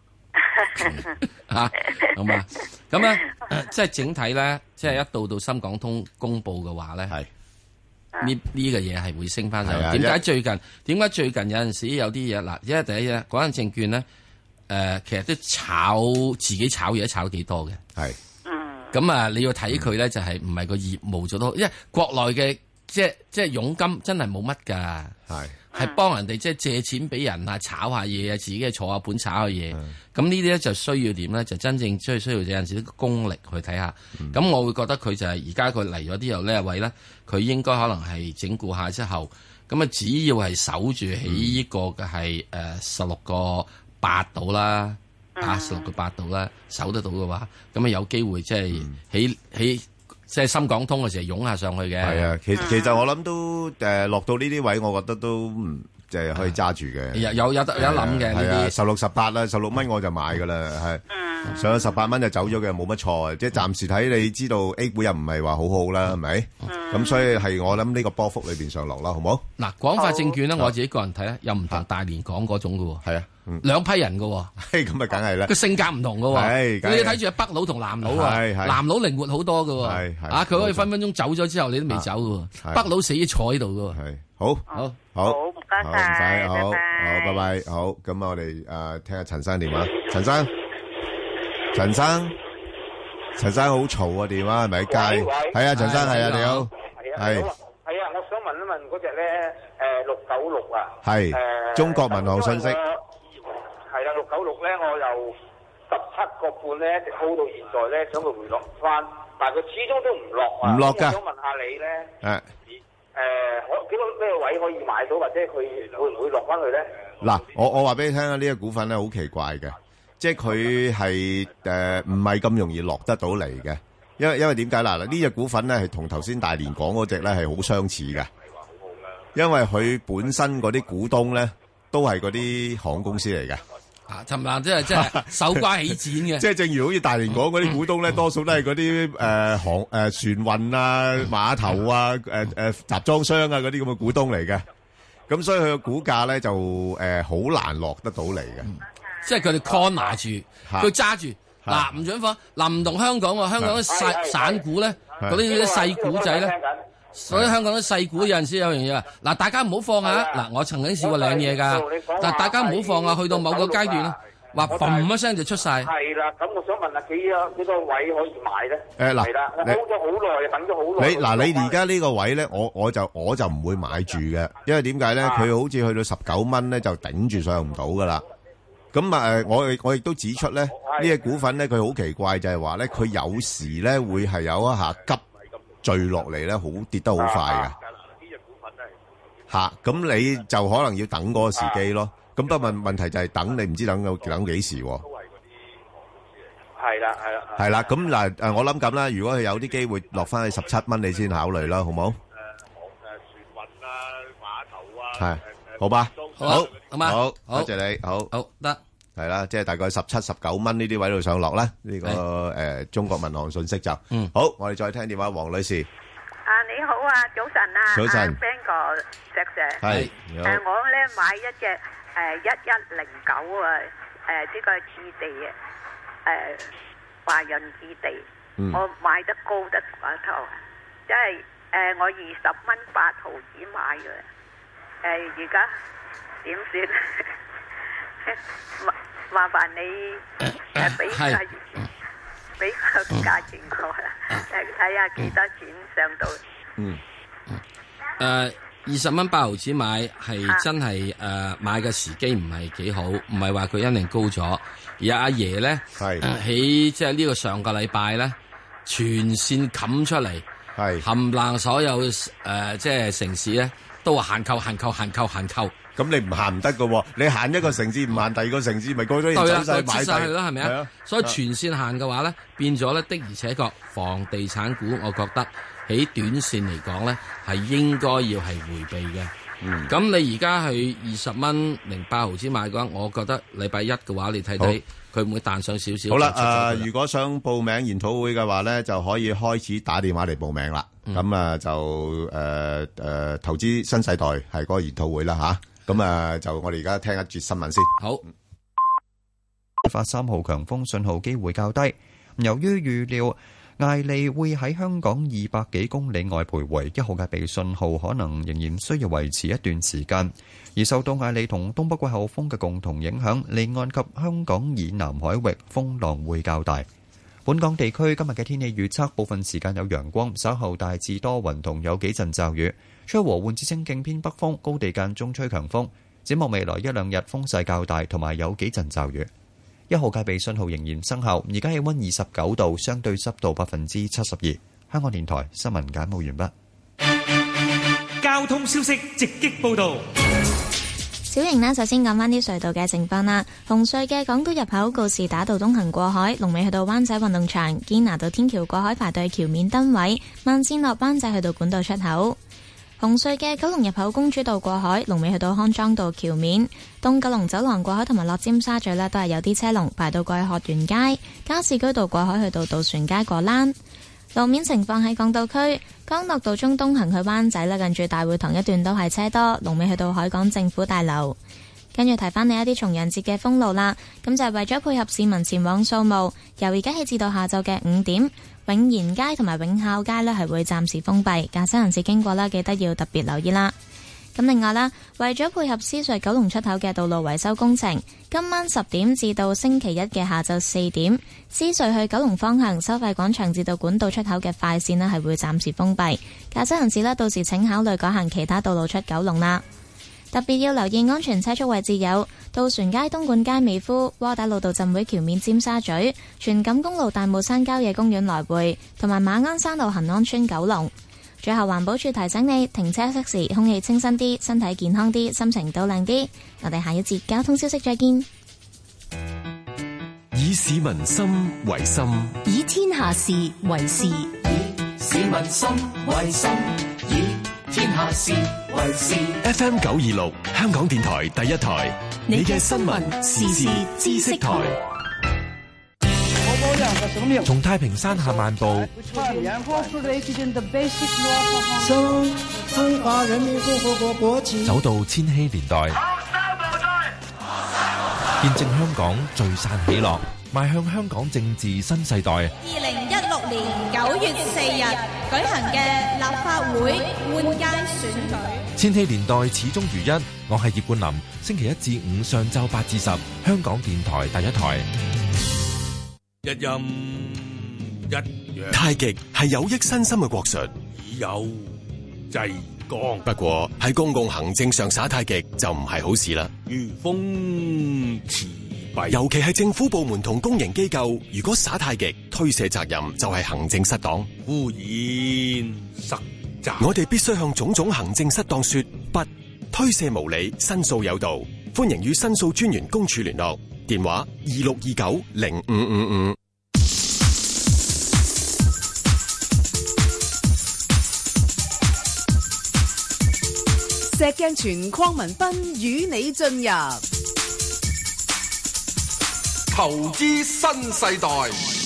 吓，好嘛？咁咧，即係整體咧，即係一到到深港通公布嘅話咧，係呢呢個嘢係會升翻上。點解最近？點解最近有陣時有啲嘢嗱？因為第一嘢，嗰間證券咧，誒、呃，其實都炒自己炒嘢，炒幾多嘅。係，咁啊，你要睇佢咧，就係唔係個業務做得好，因為國內嘅即係即係佣金真係冇乜噶。係。係幫人哋即係借錢俾人啊，炒下嘢啊，自己坐下盤炒下嘢。咁呢啲咧就需要點咧？就真正需要需要有陣時啲功力去睇下。咁、嗯、我會覺得佢就係而家佢嚟咗啲又呢位咧，佢應該可能係整固下之後，咁啊只要係守住喺呢個嘅係誒十六個八度啦，啊十六個八度啦，守得到嘅話，咁啊有機會即係喺喺。即係深港通嘅時候湧下上去嘅。係啊，其其實我諗都誒落到呢啲位，我覺得都唔即係可以揸住嘅。有有有得有得諗嘅呢啲。十六十八啦，十六蚊我就買㗎啦，係。上咗十八蚊就走咗嘅，冇乜錯。即係暫時睇，你知道 A 股又唔係話好好啦，係咪？咁所以係我諗呢個波幅裏邊上落啦，好冇？嗱，廣發證券咧，我自己個人睇咧，又唔同大連港嗰種㗎喎。係啊。兩批人嘅喎，咁啊梗係啦，個性格唔同嘅喎，你要睇住北佬同南佬啊，南佬靈活好多嘅喎，啊佢可以分分鐘走咗之後你都未走嘅喎，北佬死坐喺度嘅喎，好，好，好，唔該晒，唔使，好，好，拜拜，好，咁啊我哋誒聽下陳生電話，陳生，陳生，陳生好嘈啊電話係咪喺街？係啊，陳生係啊，你好，係，係啊，我想問一問嗰隻咧誒六九六啊，係，中國民航信息。係啦，六九六咧，我由十七個半咧，一直 hold 到現在咧，想佢回落翻，但係佢始終都唔落啊。唔落㗎。我想問下你咧，誒誒，可幾個咩位可以買到，或者佢會唔會落翻去咧？嗱，我我話俾你聽啊，呢個股份咧好奇怪嘅，即係佢係誒唔係咁容易落得到嚟嘅，因為因為點解嗱？呢隻股份咧係同頭先大連講嗰隻咧係好相似嘅，因為佢本身嗰啲股東咧都係嗰啲航空公司嚟嘅。啊，尋日即係即係手瓜起剪嘅，即係正如好似大連港嗰啲股東咧，多數都係嗰啲誒航誒船運啊、碼頭啊、誒誒集裝箱啊嗰啲咁嘅股東嚟嘅，咁所以佢嘅股價咧就誒好難落得到嚟嘅，即係佢哋 corner 住，佢揸住嗱唔準放，嗱唔同香港喎，香港啲細散股咧，嗰啲啲細股仔咧。所以香港啲細股有陣時有樣嘢啊，嗱大家唔好放啊！嗱我曾經試過領嘢㗎，但大家唔好放啊！去到某個階段，話嘭一聲就出晒。係啦，咁我想問下幾多幾多位可以買咧？誒嗱，係啦，我 hold 咗好耐，等咗好耐。你嗱你而家呢個位咧，我我就我就唔會買住嘅，因為點解咧？佢好似去到十九蚊咧，就頂住上唔到㗎啦。咁啊誒，我我亦都指出咧，呢隻股份咧，佢好奇怪就係話咧，佢有時咧會係有一下急墜落嚟咧，好跌得好快嘅。吓，咁你就可能要等嗰個時機咯。咁不過問問題就係等，你唔知等到等幾時。都係嗰啲係啦，係啦。係啦，咁嗱誒，我諗咁啦。如果佢有啲機會落翻去十七蚊，你先考慮啦，好冇？誒，航誒船運啊，碼頭啊。係，好吧。好，咁啊，好，多謝你，好，好得。係啦，即係大概十七、十九蚊呢啲位度上落啦。呢個誒中國民航信息就，嗯，好，我哋再聽電話，黃女士。啊，你好啊，早晨啊，早晨 ，Ben 哥，石 Sir，係，誒，我咧買一隻誒一一零九啊，誒呢個置地啊，誒華潤置地，我買得高得過頭，即係誒我二十蚊八毫子買嘅，誒而家點算？麻麻煩你誒俾下俾個價錢我啦，誒睇下幾多錢上到。嗯，誒二十蚊八毫子買係真係誒買嘅時機唔係幾好，唔係話佢一定高咗。而阿爺咧係喺即係呢個上個禮拜咧全線冚出嚟，係冚唪所有誒、呃、即係城市咧都話限購限購限購限購。咁你唔限唔得噶，你限一個城市唔限第二個城市，咪過咗人走晒買晒去咯，係咪啊？所以全線限嘅話咧，變咗咧的而且確，房地產股我覺得喺短線嚟講咧係應該要係回避嘅。 咁你而家係二十蚊零八毫子買嘅話，我覺得禮拜一嘅話，你睇睇佢唔會彈上少少。 好啦，誒，如果想報名研討會嘅話咧，就可以開始打電話嚟報名啦。咁啊就誒誒投資新世代係嗰個研討會啦吓。咁啊就我哋而家聽一節新聞先。 好。 發三號強風信號機會較低，由於預料艾利會喺香港二百幾公里外徘徊，一號戒備信號可能仍然需要維持一段時間。而受到艾利同東北季候風嘅共同影響，離岸及香港以南海域風浪會較大。本港地區今日嘅天氣預測，部分時間有陽光，稍後大致多雲同有幾陣驟雨，吹和緩至清勁偏北風，高地間中吹強風。展望未來一兩日風勢較大，同埋有幾陣驟雨。一號戒備信號仍然生效，而家氣溫二十九度，相對濕度百分之七十二。香港電台新聞簡報完畢。交通消息直擊報道。 小瑩呢，首先講返啲隧道嘅情況啦。紅隧嘅港島入口告士打道東行過海，龍尾去到灣仔運動場；堅拿道天橋過海排隊橋面燈位，慢線落灣仔去到管道出口。紅隧嘅九龍入口公主道過海，龍尾去到康莊道橋面；東九龍走廊過海同埋落尖沙咀呢，都係有啲車龍排到過去學園街。加士居道過海去到渡船街過欄。路面情況喺港島區，干諾道中東行去灣仔呢，近住大會堂一段都係車多，龍尾去到海港政府大樓。跟住提翻你一啲重陽節嘅封路啦，咁就係為咗配合市民前往掃墓，由而家起至到下晝嘅五點，永賢街同埋永孝街呢係會暫時封閉，駕駛人士經過啦，記得要特別留意啦。咁另外啦，為咗配合獅隧九龍出口嘅道路維修工程，今晚十點至到星期一嘅下晝四點，獅隧去九龍方向收費廣場至到管道出口嘅快線呢係會暫時封閉，駕駛人士呢到時請考慮改行其他道路出九龍啦。特別要留意安全車速位置有渡船街、東莞街、美孚、窩打老道浸會橋面、尖沙咀、荃錦公路大帽山郊野公園來回，同埋馬鞍山路恒安村九龍。最後環保署提醒你，停車熄時，空氣清新啲，身體健康啲，心情都靚啲。我哋下一節交通消息再見。 以市民心為心， 以天下事為事，以市民心為心，以天下事為事。 F M 九二六香港電台第一台，你嘅新聞時事知識台。 從太平山下漫步， 中華人民共和國國旗， 走到千禧年代，見證香港聚散喜樂，邁向香港政治新世代。 二零一六年九月四日舉行嘅立法會換屆選舉， 千禧年代始終如一。我係葉冠霖，星期一至五上晝八至十，香港電台第一台。 一陰一陽， 太極係有益身心嘅國術， 以柔制剛。 不過喺公共行政上耍太極就唔係好事啦。 如風持弊， 尤其係政府部門同公營機構，如果耍太極，推卸責任就係行政失當， 污染實責。 我哋必須向種種行政失當說不，推卸無理，申訴有道。歡迎與申訴專員公署聯絡。電話二六二九零五五五。 石鏡泉鄺民彬與你進入投資新世代。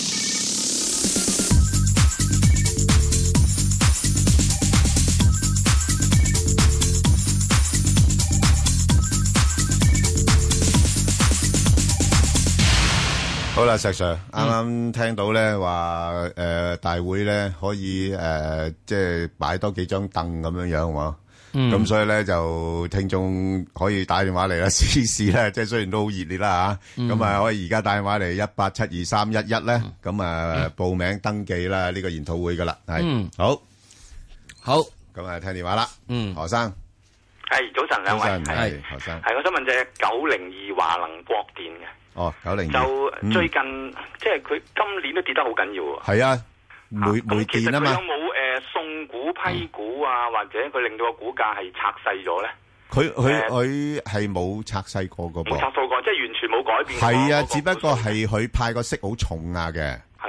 好啦，石 Sir，啱啱聽到咧話誒大會咧可以誒即係擺多幾張凳咁樣樣喎，咁所以咧就聽眾可以打電話嚟啦，試試咧，即係雖然都好熱烈啦嚇，咁啊可以而家打電話嚟一八七二三一一咧，咁啊報名登記啦呢個研討會噶啦，係好，好，咁啊聽電話啦，嗯，何生， 係早晨兩位， 係何生， 係我想問隻九零二華能國電嘅。 哦，九零就最近、嗯、即係佢今年都跌得好緊要喎。 係啊，煤煤電啊嘛。 其實佢有冇誒、呃、送股批股啊，嗯、或者佢令到個股價係拆細咗咧？ 佢佢佢係冇拆細過個噃。 冇拆細過，即係完全冇改變。 係啊，只不過係佢派個息好重啊嘅。 係咯。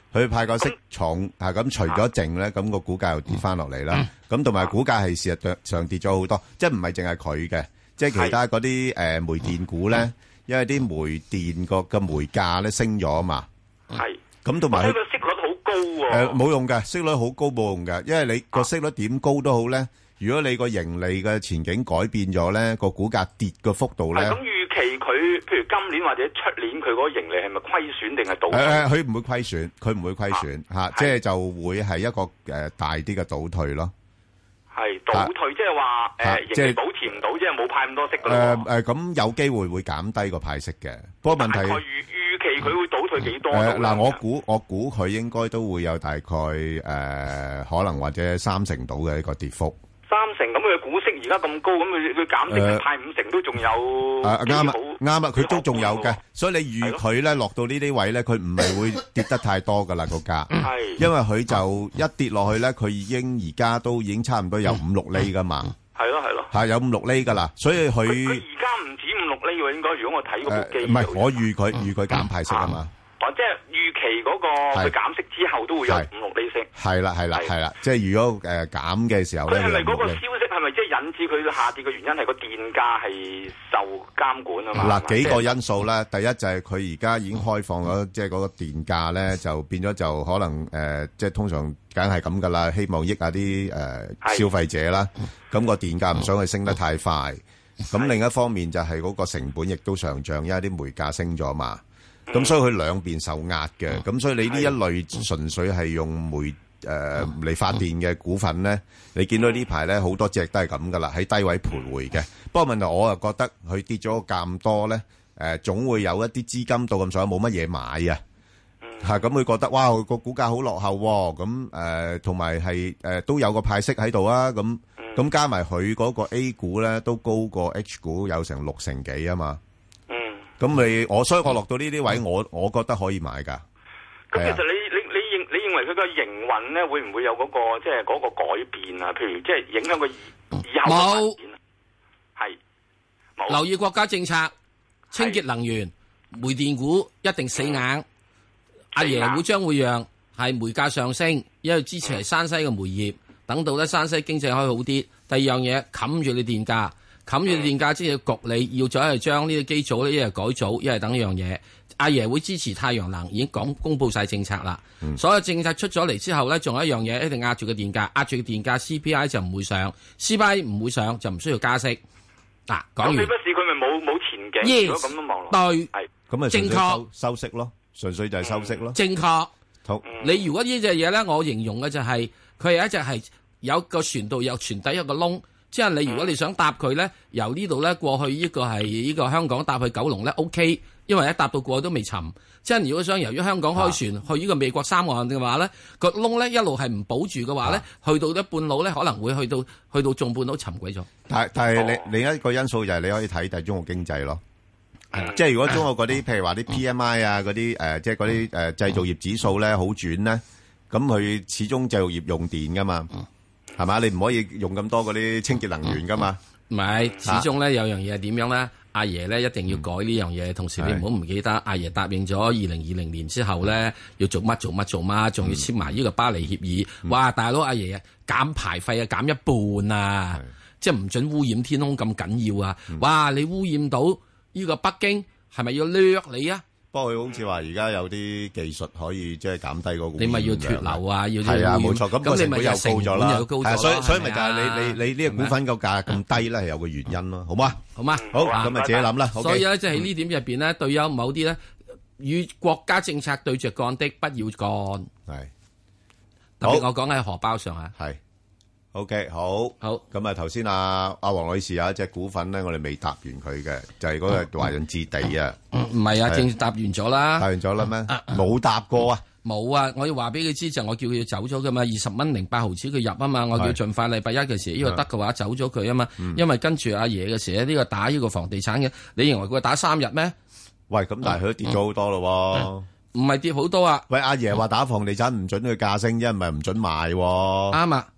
佢派個息重啊，咁除咗淨咧，咁個股價又跌翻落嚟啦。咁同埋股價係事實上跌咗好多，即係唔係淨係佢嘅，即係其他嗰啲誒煤電股咧，因為啲煤電個嘅煤價咧升咗啊嘛。 係。 咁同埋佢個息率好高喎。 誒冇用嘅，息率好高冇用嘅，因為你個息率點高都好咧，如果你個盈利嘅前景改變咗咧，個股價跌嘅幅度咧。 咁預期佢，譬如今年或者出年佢嗰個盈利係咪虧損定係倒退？ 誒誒，佢唔會虧損，佢唔會虧損嚇，即係就會係一個誒大啲嘅倒退咯。 係倒退，即係話誒盈利保持唔到，即係冇派咁多息㗎咯。 誒誒，咁有機會會減低個派息嘅，不過問題。 預預期佢會倒退幾多？ 誒嗱，我估我估佢應該都會有大概誒可能或者三成到嘅一個跌幅。 三成咁佢嘅股息而家咁高，咁佢佢減息派五成都仲有。 誒啱啊啱啊，佢都仲有嘅，所以你預佢咧落到呢啲位咧，佢唔係會跌得太多噶啦個價。係，因為佢就一跌落去咧，佢已經而家都已經差唔多有五六厘噶嘛。 係咯係咯。 係有五六厘噶啦，所以佢。 佢而家唔止五六厘喎，應該如果我睇嗰部機。 唔係，我預佢預佢減派息啊嘛。 哦，即係預期嗰個佢減息之後都會有五六厘息。係啦係啦係啦，即係如果誒減嘅時候咧， 佢係咪嗰個消息係咪即係引致佢下跌嘅原因係個電價係受監管啊嘛？ 嗱，幾個因素咧，第一就係佢而家已經開放咗，即係嗰個電價咧就變咗就可能誒，即係通常梗係咁噶啦，希望益下啲誒消費者啦。咁個電價唔想佢升得太快。咁另一方面就係嗰個成本亦都上漲，因為啲煤價升咗嘛。咁所以佢兩邊受壓嘅，咁所以你呢一類純粹係用煤誒嚟發電嘅股份咧，你見到呢排咧好多隻都係咁噶啦，喺低位徘徊嘅。不過問題我又覺得佢跌咗咁多咧，誒總會有一啲資金到咁上下冇乜嘢買啊，嚇咁佢覺得哇個股價好落後喎，咁誒同埋係誒都有個派息喺度啊，咁咁加埋佢嗰個 A 股咧都高過 H 股有成六成幾啊嘛。咁你我所以我落到呢啲位，我我覺得可以買噶。 咁其實你你你認你認為佢個營運咧，會唔會有嗰個即係嗰個改變啊？譬如即係影響個以後嘅發展啊？係冇留意國家政策，清潔能源、煤電股一定死硬。阿爺會將會讓係煤價上升，因為支持係山西嘅煤業，等到咧山西經濟可以好啲。第二樣嘢冚住你電價。冚住電價，即係焗你要再係將呢個機組咧，一係改組，一係等一樣嘢。阿爺會支持太陽能，已經講公佈晒政策啦。嗯、所有政策出咗嚟之後咧，仲有一樣嘢一定壓住個電價，壓住個電價 C P I 就唔會上 ，C P I 唔會上就唔需要加息。嗱、啊，講完。咁你不是佢咪冇冇前景？ yes, 如果咁樣望落， 對， 係咁啊， 正確收息咯，純粹就係收息咯。 正確。好，你如果呢隻嘢咧，我形容嘅就係佢係一隻係有個船度有船底有個窿。即係你如果你想搭佢咧，由呢度咧過去呢個係呢個香港搭去九龍咧 OK， 因為一搭到過去都未沉。即係如果想由於香港開船、啊、去呢個美國三岸嘅話咧，個窿咧一路係唔保住嘅話咧，啊、去到一半路咧可能會去到去到仲半路沉鬼咗。 但但係你另一個因素就係你可以睇睇中國經濟咯。嗯、即係如果中國嗰啲譬如話啲 P M I 啊嗰啲誒，即係嗰啲誒製造業指數咧好轉咧，咁佢始終製造業用電噶嘛。嗯係嘛？你唔可以用咁多嗰啲清潔能源噶嘛？ 唔係，始終咧有樣嘢係點樣咧？阿爺咧一定要改呢樣嘢。同時你唔好唔記得，阿爺答應咗二零二零年之後咧要做乜做乜做乜，仲要簽埋呢個巴黎協議。哇！大佬阿爺啊，減排費啊減一半啊，即係唔准污染天空咁緊要啊！哇！你污染到呢個北京，係咪要掠你啊？ 不過佢好似話而家有啲技術可以即係減低嗰個， 你咪要脫流啊，要係啊，冇錯。咁個成本又高咗啦，係所以所以咪就係你你你呢個股份個價咁低咧，係有個原因咯，好嗎？ 好嗎？ 好，咁咪自己諗啦。 所以咧，即係呢點入邊咧，對有某啲咧與國家政策對着幹的，不要幹。係特別我講喺荷包上啊。 係。O K， 好，好，咁啊，頭先阿阿黃女士有一隻股份咧，我哋未答完佢嘅，就係嗰個華潤置地啊。 唔係啊，正答完咗啦。 答完咗啦咩？冇答過啊。 冇啊！我要話俾佢知就我叫佢走咗噶嘛，二十蚊零八毫子佢入啊嘛，我叫盡快禮拜一嘅時呢個得嘅話走咗佢啊嘛，因為跟住阿爺嘅時呢個打呢個房地產嘅，你認為佢打三日咩？ 喂，咁但係佢都跌咗好多咯。 唔係跌好多啊！ 喂，阿爺話打房地產唔准佢價升，因為唔係唔准賣。啱啊！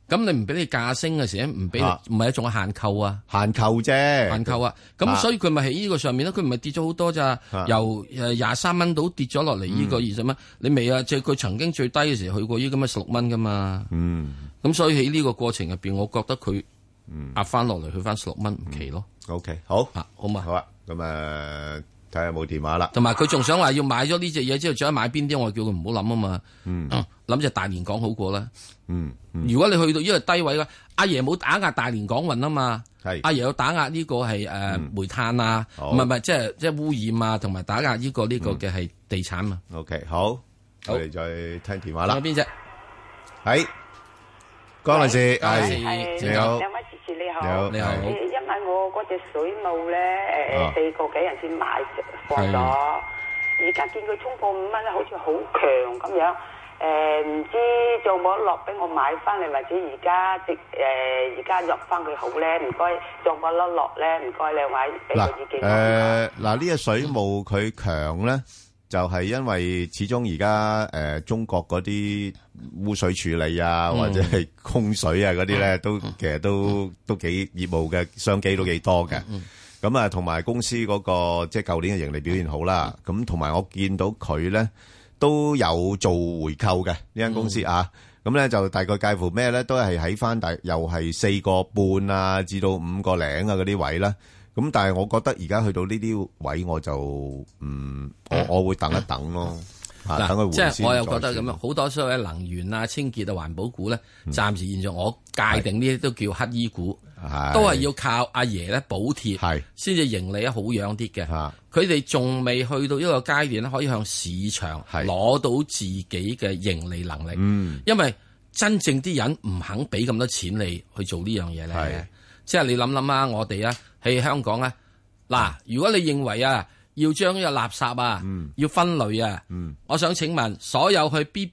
咁你唔俾你價升嘅時候，唔俾唔係一種限購啊， 限購啫， 限購啊。咁所以佢咪喺呢個上面咧，佢唔係跌咗好多咋，由誒廿三蚊到跌咗落嚟呢個二十蚊，你未啊？即係佢曾經最低嘅時候去過呢咁嘅十六蚊噶嘛。嗯，咁所以喺呢個過程入邊，我覺得佢壓翻落嚟去翻十六蚊唔奇咯。 O K，好啊，好嘛， 好啊，咁誒。睇下冇電話啦， 同埋佢仲想話要買咗呢隻嘢之後，再買邊啲？我叫佢唔好諗啊嘛。嗯，諗隻大連港好過啦。嗯，如果你去到呢個低位嘅，阿爺冇打壓大連港運啊嘛。係，阿爺有打壓呢個係誒煤炭啊，唔係唔係，即係即係污染啊，同埋打壓呢個呢個嘅係地產啊。 O K，好，我哋再聽電話啦。 邊隻？ 係江女士，係你好， 兩位主持你好， 你好，你好。 因為我嗰隻水務咧，誒四個幾人先買放咗，而家見佢衝破五蚊咧，好似好強咁樣。誒唔知做冇落俾我買翻嚟，或者而家直誒而家入翻佢好咧？唔該，做冇落落咧？唔該兩位俾個意見。 誒嗱，呢隻水務佢強咧，就係因為始終而家誒中國嗰啲污水處理啊，或者係供水啊嗰啲咧，都其實都都幾業務嘅商機都幾多嘅。咁啊，同埋公司嗰個即係舊年嘅盈利表現好啦。咁同埋我見到佢咧都有做回購嘅呢間公司啊。咁咧就大概介乎咩咧，都係喺翻大又係四個半啊，至到五個零啊嗰啲位啦。咁但係我覺得而家去到呢啲位，我就嗯，我我會等一等咯。嗱，等佢回先。即係我又覺得咁樣，好多所謂能源啊、清潔啊、環保股咧，暫時現在我界定呢啲都叫乞衣股，都係要靠阿爺咧補貼，先至盈利得好樣啲嘅。佢哋仲未去到一個階段咧，可以向市場攞到自己嘅盈利能力。嗯，因為真正啲人唔肯俾咁多錢你去做呢樣嘢咧。即係你諗諗啊，我哋啊喺香港啊，嗱，如果你認為啊要將呢個垃圾啊、嗯、要分類啊，嗯、我想請問所有去 B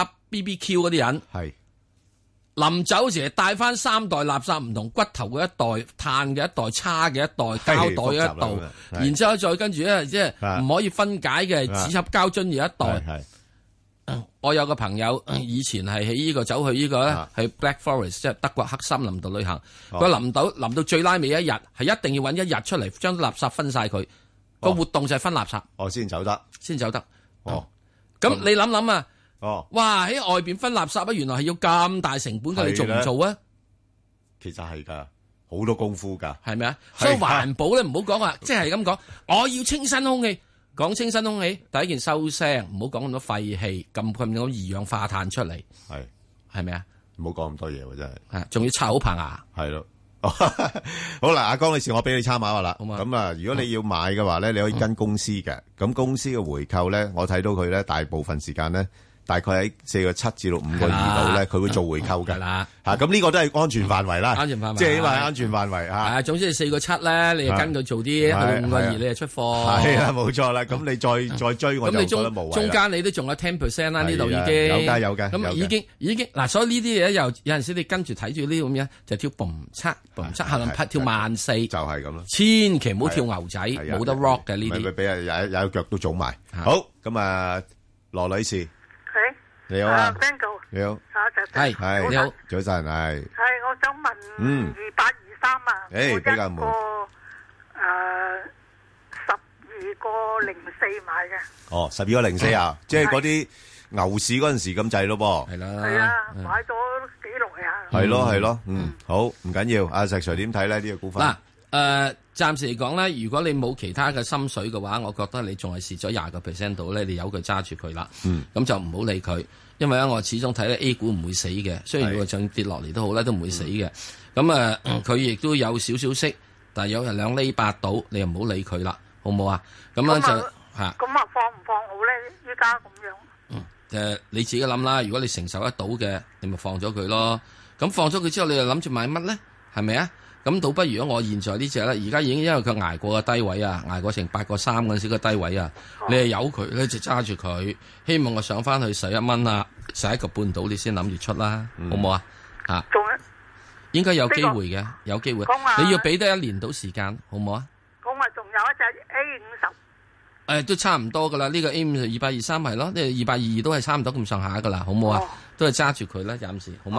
B B Q 嗰啲人，係臨走時帶翻三袋垃圾，唔同骨頭嘅一袋、碳嘅一袋、叉嘅一袋、膠袋嘅一袋，然之後再跟住咧，即係唔可以分解嘅紙盒膠樽嘅一袋。我有個朋友以前係喺呢個走去呢個咧，係 Black Forest 即係德國黑森林度旅行。佢臨到臨到最拉尾一日，係一定要揾一日出嚟將垃圾分晒佢。個活動就係分垃圾。 哦，先走得，先走得。哦，咁你諗諗啊？哦，哇！喺外邊分垃圾啊，原來係要咁大成本嘅，你做唔做啊？ 其實係噶，好多功夫噶， 係咪啊？所以環保咧，唔好講話，即係咁講，我要清新空氣。講清新空氣，第一件收聲，唔好講咁多廢氣，咁咁多二氧化碳出嚟，係係咪啊？ 唔好講咁多嘢喎，真係， 係仲要刷好棚牙， 係咯。好啦，阿江女士，我俾你參考下啦。咁啊，如果你要買嘅話咧，你可以跟公司嘅。咁公司嘅回購咧，我睇到佢咧，大部分時間咧，大概喺四個七至到五個二度咧，佢會做回購嘅。啦，吓咁呢個都係安全範圍啦。安全範圍，即係因為安全範圍吓。 係啊，總之係四個七咧，你就跟佢做啲，去到五個二你就出貨。 係啊，冇錯啦。咁你再再追，我就覺得無謂。 中間你都仲有 ten percent 啦，呢度已經有噶有噶。 咁已經已經嗱，所以呢啲嘢又有陣時你跟住睇住呢咁樣，就跳嘣七嘣七，可能拍跳萬四，就係咁咯。 千祈唔好跳牛仔，冇得 rock 嘅呢啲。 咪俾人踩踩腳都腫埋。好，咁啊，羅女士。你好啊 ，Ben 哥， 你好， 係係你好，早晨係。 係我想問，嗯，二八二三啊， 誒比較冇， 誒十二個零四買嘅。 哦，十二個零四啊，即係嗰啲牛市嗰陣時咁滯咯噃。 係啦， 係啊，買咗幾耐啊？ 係咯係咯，嗯，好唔緊要。阿石 Sir 點睇咧呢個股份？ 嗱，誒，暫時嚟講咧，如果你冇其他嘅心水嘅話，我覺得你仲係蝕咗廿個 percent 度咧，你由佢揸住佢啦。嗯，咁就唔好理佢。因為咧，我始終睇咧 A 股唔會死嘅，雖然佢仲跌落嚟都好咧，都唔會死嘅。咁啊，佢亦都有少少息，但係有人兩厘八到，你又唔好理佢啦，好唔好啊？咁樣就嚇。 咁啊，放唔放好咧？依家咁樣。 嗯，誒你自己諗啦。如果你承受得到嘅，你咪放咗佢咯。咁放咗佢之後，你又諗住買乜咧？係咪啊？咁倒不如如果我現在呢隻咧，而家已經因為佢捱過個低位啊，捱過成八個三嗰陣時個低位啊，哦、你係由佢咧就揸住佢，希望我上翻去十一蚊啊，十一個半到你先諗住出啦，嗯、好唔好啊？嚇， 仲應該有機會嘅，有機會。你要俾得一年到時間，好唔好啊？ 咁啊，仲有一隻 A 五十， 誒都差唔多噶啦，呢、呢個 A 五十二百二三係咯，呢個二百二二都係差唔多咁上下噶啦，好唔好啊？哦、都係揸住佢啦，暫時好嗎？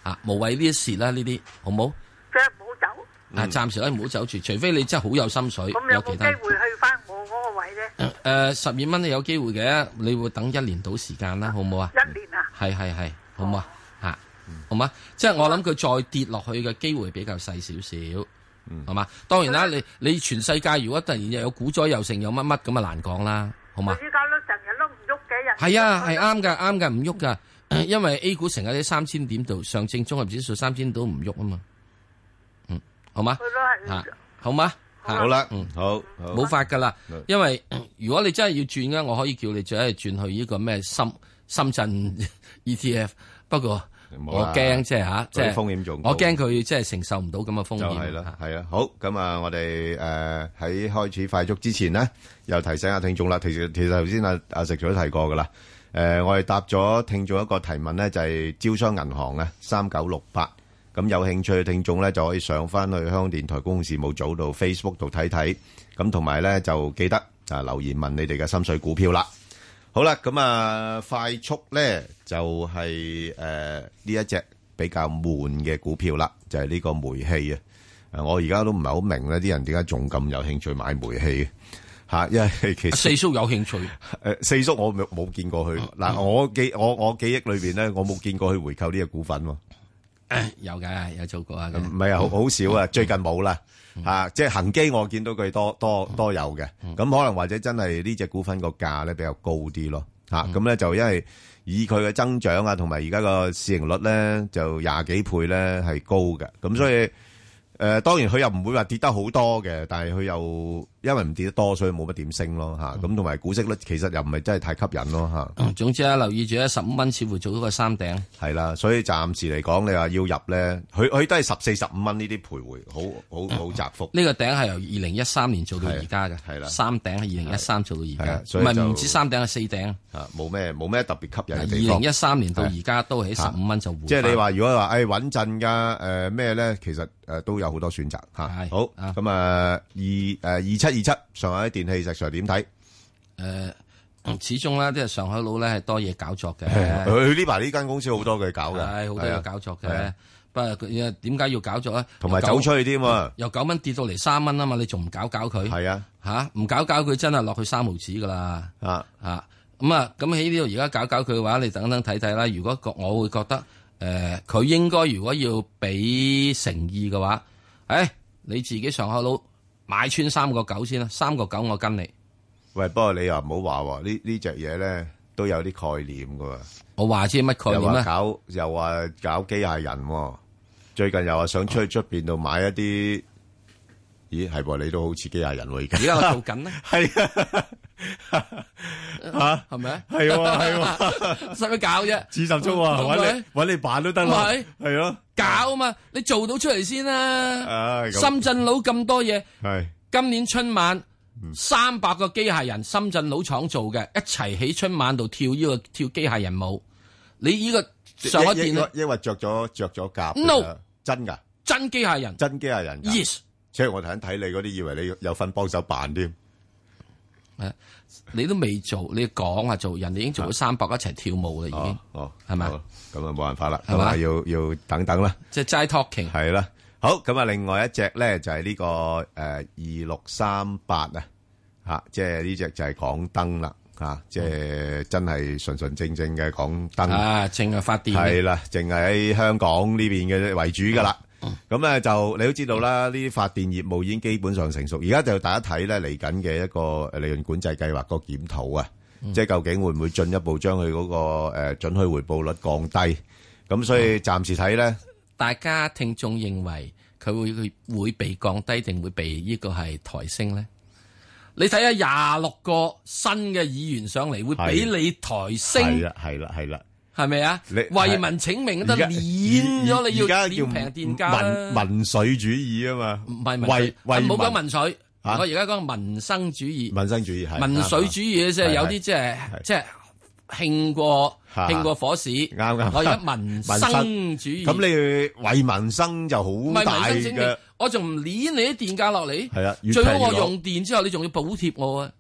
啊，無謂呢啲蝕啦，呢啲好冇？ 即係唔好走。 啊，暫時咧唔好走住，除非你真係好有心水， 咁有冇其他機會去翻我嗰個位咧？ 誒，十二蚊你有機會嘅，你會等一年到時間啦，好唔好啊？ 一年啊？ 係係係，好唔好啊？吓，好嘛？即係我諗佢再跌落去嘅機會比較細少少，係嘛？當然啦，你你全世界如果突然又有股災又成有乜乜咁啊難講啦，好嘛？ 依家都成日都唔喐嘅人。 係啊，係啱噶，啱噶，唔喐噶，因為 A 股成日喺三千點度，上證綜合指數三千都唔喐啊嘛。嗯，好嘛？吓，好嘛？ 好啦， 嗯， 好， 冇法噶啦，因為如果你真係要轉嘅，我可以叫你再係轉去呢個咩深深圳 E T F， 不過我驚即係吓，即係風險仲， 我驚佢即係承受唔到咁嘅風險。 就係啦，係啊，好，咁啊，我哋誒喺開始快速之前呢，又提醒下聽眾啦。其實其實頭先阿阿石 Sir 都提過噶啦，誒，我哋答咗聽眾一個提問咧，就係招商銀行啊，三九六八。咁有興趣嘅聽眾咧，就可以上翻去香港電台公共事務組度 Facebook 度睇睇，咁同埋咧就記得啊留言問你哋嘅心水股票啦。好啦，咁啊快速咧就係誒呢一隻比較悶嘅股票啦，就係、是、呢個煤氣啊。誒，我而家都唔係好明咧，啲人點解仲咁有興趣買煤氣嚇？因為其實四叔有興趣誒，四叔我冇冇見過佢嗱、嗯，我記我我記憶裏邊咧，我冇見過佢回購呢個股份喎。 有嘅，有做過啊。 唔係啊，好好少啊，最近冇啦嚇。即係恒基，我見到佢多多多有嘅。咁可能或者真係呢隻股份個價咧比較高啲咯嚇。咁咧就因為以佢嘅增長啊，同埋而家個市盈率咧就廿幾倍咧係高嘅。咁所以誒，當然佢又唔會話跌得好多嘅，但係佢又因為唔跌得多，所以冇乜點升咯嚇。咁同埋股息率其實又唔係真係太吸引咯嚇。 總之啊，留意住咧，十五蚊似乎做到個三頂。 係啦，所以暫時嚟講，你話要入咧，佢佢都係十四十五蚊呢啲徘徊，好好好窄幅。 呢個頂係由二零一三年做到而家嘅，係啦，三頂係二零一三做到而家，唔係唔止三頂係四頂。 啊，冇咩冇咩特別吸引嘅地方。二零一三年到而家都喺十五蚊就回。 即係你話如果話誒穩陣㗎誒咩咧，其實誒都有好多選擇嚇。好咁啊，二誒二七二七上海電器石 Sir 點睇？ 誒。始終咧，即係上海佬咧係多嘢搞作嘅。 佢呢排呢間公司好多佢搞嘅， 係好多嘢搞作嘅。不過佢點解要搞作咧？ 同埋走出去添喎， 由九蚊跌到嚟三蚊啊嘛，你仲唔搞搞佢？係啊，吓唔搞搞佢真係落去三毫子噶啦。啊啊咁啊，咁喺呢度而家搞搞佢嘅話，你等等睇睇啦。如果我會覺得誒，佢、呃、應該如果要俾誠意嘅話，誒、哎，你自己上海佬買穿三個九先啦，三個九我跟你。 喂，不過你又唔好話喎，呢呢隻嘢咧都有啲概念噶。 我話知乜概念咧？ 又話搞又話搞機械人，最近又話想出去出邊度買一啲，咦係噃？你都好似機械人喎而家。而家我做緊咧。係啊，吓係咪啊？係喎係喎，使乜搞啫？自十足啊，搵你搵你扮都得啦。係係咯， 搞啊嘛，你做到出嚟先啦。深圳佬咁多嘢，係今年春晚。三百個機械人，深圳佬廠做嘅，一齊喺春晚度跳呢個跳機械人舞。你呢個上海電因為着咗着咗甲 ，no 真噶， 真機械人， 真機械人 ，yes。 即係我頭先睇你嗰啲，以為你有份幫手扮添。 誒，你都未做，你講啊做，人哋已經做咗三百一齊跳舞啦，已經。哦，係咪？咁啊冇辦法啦，係嘛？要要等等啦。 即係齋 talking。 係啦。好，咁啊，另外一隻咧就係呢個誒二六三八啊，吓，即係呢隻就係港燈啦，吓，即係真係純純正正嘅港燈啊，淨係發電係啦，淨係喺香港呢邊嘅為主噶啦。咁咧就你都知道啦，呢啲發電業務已經基本上成熟，而家就大家睇咧嚟緊嘅一個利潤管制計劃個檢討啊，即係究竟會唔會進一步將佢嗰個誒準許回報率降低？咁所以暫時睇咧。 大家聽眾認為佢會會會被降低定會被呢個係抬升咧？你睇下廿六個新嘅議員上嚟，會俾你抬升？ 係啦，係啦，係啦， 係咪啊？為民請命都碾咗你要碾平電價啦！ 民民粹主義啊嘛， 唔係民粹，唔好講民粹，我而家講民生主義。 民生主義係民粹主義即係有啲即係即係。興過興過火市，啱啱。我而家民生主義， 咁你為民生就好大嘅。 我仲唔捻你啲電價落嚟？ 係啊， 最好我用電之後，你仲要補貼我啊。 係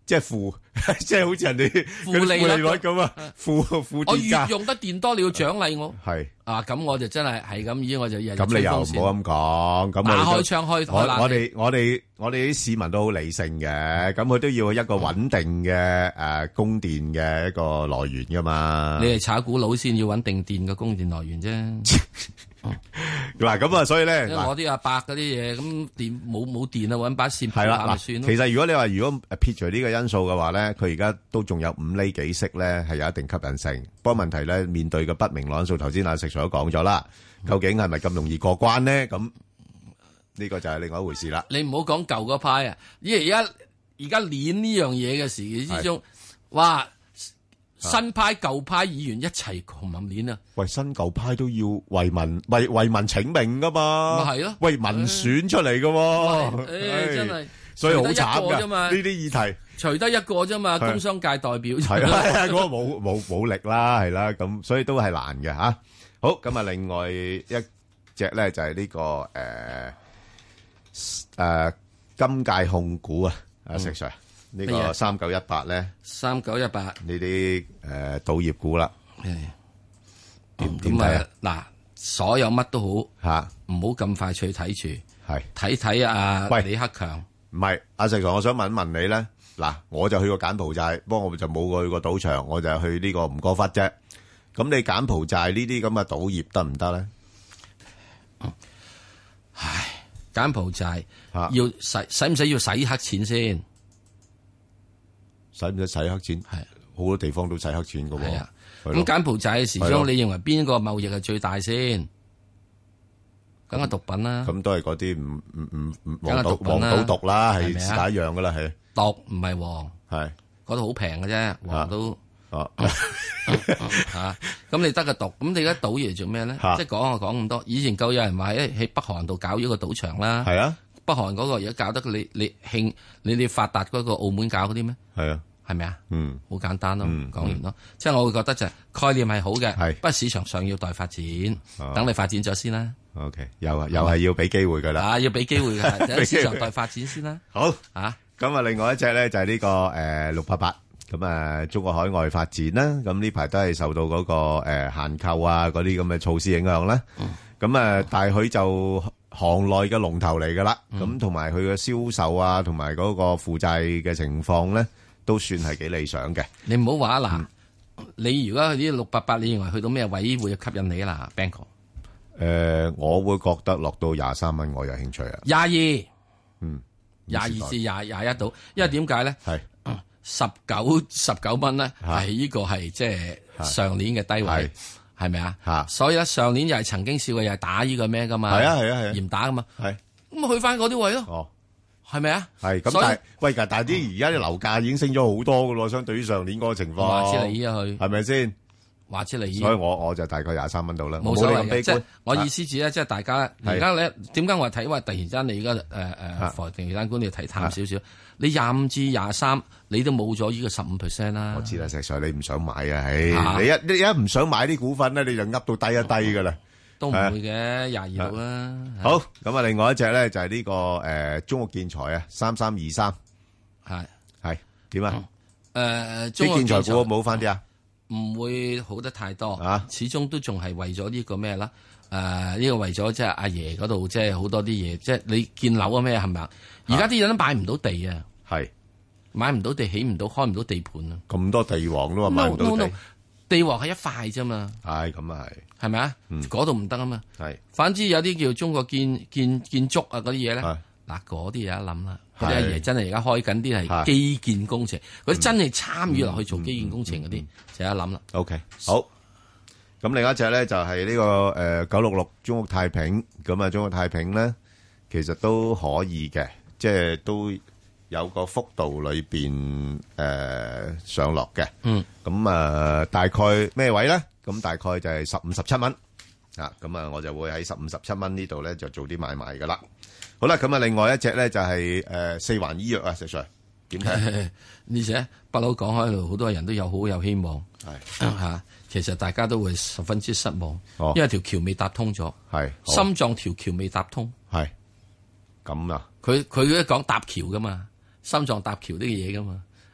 即係負，即係好似人哋負利率咁啊，負負我越用得電多，你要獎勵我。 係啊，咁我就真係係咁，依我就日日咁你又唔好咁講，咁打開窗開台冷氣。 我哋我哋我哋啲市民都好理性嘅，咁佢都要一個穩定嘅誒供電嘅一個來源噶嘛。 你係炒股佬先要穩定電嘅供電來源啫。 嗱咁啊，所以咧， 我啲阿伯嗰啲嘢，咁電冇冇電啊，搵把線係啦， 咪算咯。 其實如果你話如果撇除呢個因素嘅話咧，佢而家都仲有五厘幾息咧，係有一定吸引性。不過問題咧，面對嘅不明朗因素，頭先阿石 Sir 都講咗啦，究竟係咪咁容易過關咧？咁呢個就係另外一回事啦。 你唔好講舊嗰派啊，因為而家而家練呢樣嘢嘅時期之中，哇！新派舊派議員一齊窮冧鏈啊！ 喂，新舊派都要為民為為民請命噶嘛？ 咪係咯， 為民選出嚟噶喎！ 誒，真係， 所以好慘噶呢啲議題， 除得一個啫嘛，工商界代表係啊，嗰個冇冇冇力啦，係啦，咁所以都係難嘅吓。好，咁啊，另外一隻咧就係呢個誒誒金界控股啊，阿石 Sir。呢個三九一八咧， 三九一八呢啲誒賭業股啦，點點睇啊？ 嗱，所有乜都好嚇， 唔好咁快去睇住， 係睇睇阿喂李克強。 唔係阿石 Sir，我想問一問你咧，嗱，我就去過柬埔寨，不過我就冇去過賭場，我就去呢個吳哥窟啫。咁你柬埔寨呢啲咁嘅賭業得唔得咧？ 唉，柬埔寨要使使唔使要洗黑錢先？ 使唔使洗黑錢？係好多地方都洗黑錢噶喎。係啊， 咁柬埔寨嘅時鐘，你認為邊個貿易係最大先？梗係毒品啦。咁都係嗰啲唔唔唔唔黃賭黃賭毒啦，係是但一樣噶啦，係。毒唔係黃，係嗰度好平嘅啫，黃都哦吓。咁你得個毒，咁你而家賭嘢做咩咧？即係講啊講咁多。以前夠有人話喺喺北韓度搞咗個賭場啦。係啊。北韓嗰個而家搞得你你興你哋發達嗰個澳門搞嗰啲咩？係啊，係咪啊？嗯，好簡單咯，講完咯。即係我會覺得就係概念係好嘅，係不過市場上要待發展，等你發展咗先啦。OK，又又係要俾機會噶啦，啊，要俾機會嘅，等市場待發展先啦。好啊，咁啊，另外一隻咧就係呢個誒六八八，咁啊中國海外發展啦，咁呢排都係受到嗰個誒限購啊嗰啲咁嘅措施影響啦。咁啊，但係佢就行內嘅龍頭嚟噶啦，咁同埋佢嘅銷售啊，同埋嗰個負債嘅情況咧，都算係幾理想嘅。你唔好話嗱，你如果去啲六八八，你認為去到咩位會吸引你啊？嗱 Banker，誒，我會覺得落到廿三蚊，我有興趣啊。廿二，嗯，廿二至廿廿一度，因為點解咧？係十九十九蚊咧，係呢個係即係上年嘅低位。係咪啊？吓，所以咧上年又係曾經試過又係打呢個咩噶嘛？係啊係啊係啊，嚴打噶嘛？係咁去翻嗰啲位咯。哦，係咪啊？係咁，但係喂，但係啲而家啲樓價已經升咗好多噶咯，相對於上年嗰個情況。話之你啊，去係咪先？話之你，所以我我就大概廿三蚊度啦。冇所謂嘅，即係我意思指咧，即係大家而家咧，點解我話睇話突然間你而家誒誒，房地產官你睇淡少少？你廿五至廿三，你都冇咗呢個十五 percent 啦。我知啦，石 Sir，你唔想買啊？唉，你一你一唔想買啲股份咧，你就噏到低一低噶啦。都唔會嘅，廿二度啦。好，咁啊，另外一隻咧就係呢個誒中國建材啊，三三二三，係係點啊？誒，啲建材股冇翻啲啊？唔會好得太多啊，始終都仲係為咗呢個咩啦？誒，呢個為咗即係阿爺嗰度，即係好多啲嘢，即係你建樓啊咩係咪啊？而家啲人都買唔到地啊，係買唔到地，起唔到，開唔到地盤啊！咁多地王都話買唔到地，地王係一塊啫嘛。係咁啊係，係咪啊？嗰度唔得啊嘛。係，反之有啲叫中國建建建築啊嗰啲嘢咧，嗱嗰啲有得諗啦。嗰啲阿爺真係而家開緊啲係基建工程，嗰啲真係參與落去做基建工程嗰啲，就有得諗啦。OK，好。咁另一隻咧就係呢個誒九六六中國太平，咁啊中國太平咧其實都可以嘅。即係都有個幅度裏邊誒上落嘅，嗯，咁啊大概咩位咧？咁大概就係十五十七蚊啊，咁啊我就會喺十五十七蚊呢度咧就做啲買賣噶啦。好啦，咁啊另外一隻咧就係誒四環醫藥啊，石 Sir 點睇？呢隻不嬲講開度，好多人都有好有希望，係吓，其實大家都會十分之失望，因為條橋未搭通咗，係心臟條橋未搭通，係。咁啊，佢佢一講搭橋噶嘛，心臟搭橋啲嘢噶嘛，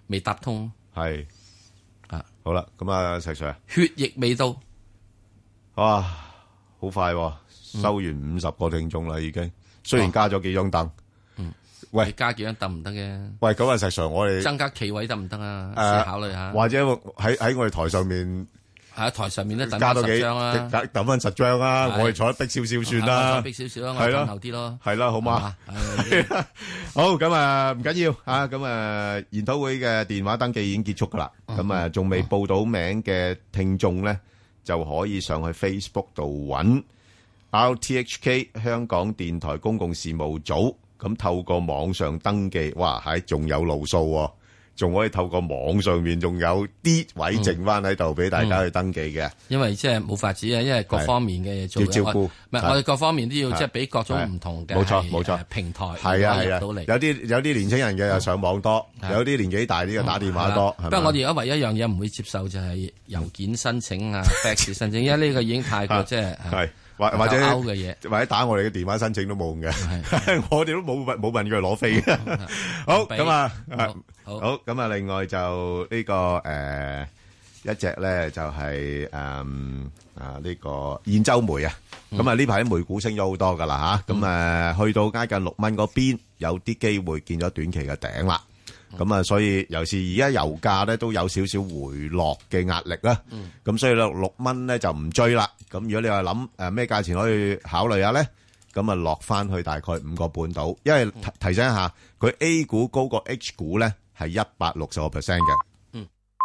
未搭通。 係啊， 好啦，咁啊，石 Sir， 血液未到， 哇，好快喎，收完五十個聽眾啦，已經。雖然加咗幾張凳， 嗯， 喂， 加幾張凳唔得嘅。 喂，咁啊，石 Sir，我哋增加企位得唔得啊？ 誒， 試考慮下。 或者喺喺我哋台上面。 喺台上面咧， 加多幾張啦， 抌翻十張啦，我哋坐得逼少少算啦， 逼少少啦，我哋後啲咯， 係啦，好嘛？好，咁啊，唔緊要啊，咁啊，研討會嘅電話登記已經結束噶啦，咁啊，仲未報到名嘅聽眾咧，就可以上去 Facebook 度揾 R T H K 香港電台公共事務組，咁透過網上登記，哇，係仲有路數喎。仲可以透過網上面仲有啲位剩翻喺度俾大家去登記嘅、嗯嗯， 因為即係冇法子啊，因為各方面嘅嘢做要照顧，唔係我哋各方面都要即係俾各種唔同嘅， 冇錯冇錯平台係啊係啊，有啲有啲年輕人嘅又上網多，嗯、有啲年紀大啲嘅打電話多。 不過我哋而家唯一一樣嘢唔會接受就係郵件申請啊、fax 申請，因為呢個已經太過即係係。 或或者嘅嘢， 或者打我哋嘅電話申請都冇用嘅，我哋都冇問冇問佢攞飛嘅。好咁啊，好咁啊，另外就呢個誒一隻咧就係誒啊呢個兗州煤啊，咁啊呢排啲煤股升咗好多噶啦吓，咁誒去到挨近六蚊嗰邊，有啲機會見咗短期嘅頂啦。咁啊，所以尤其是而家油價咧都有少少回落嘅壓力啦。咁所以咧六蚊咧就唔追啦。咁如果你話諗誒咩價錢可以考慮下咧，咁啊落翻去大概五個半度。因為提提醒一下，佢 A 股高過 H 股咧係一百六十個 percent 嘅。嗯。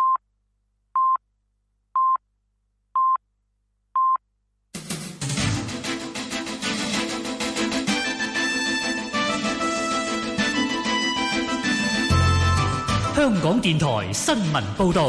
香港電台新聞報道。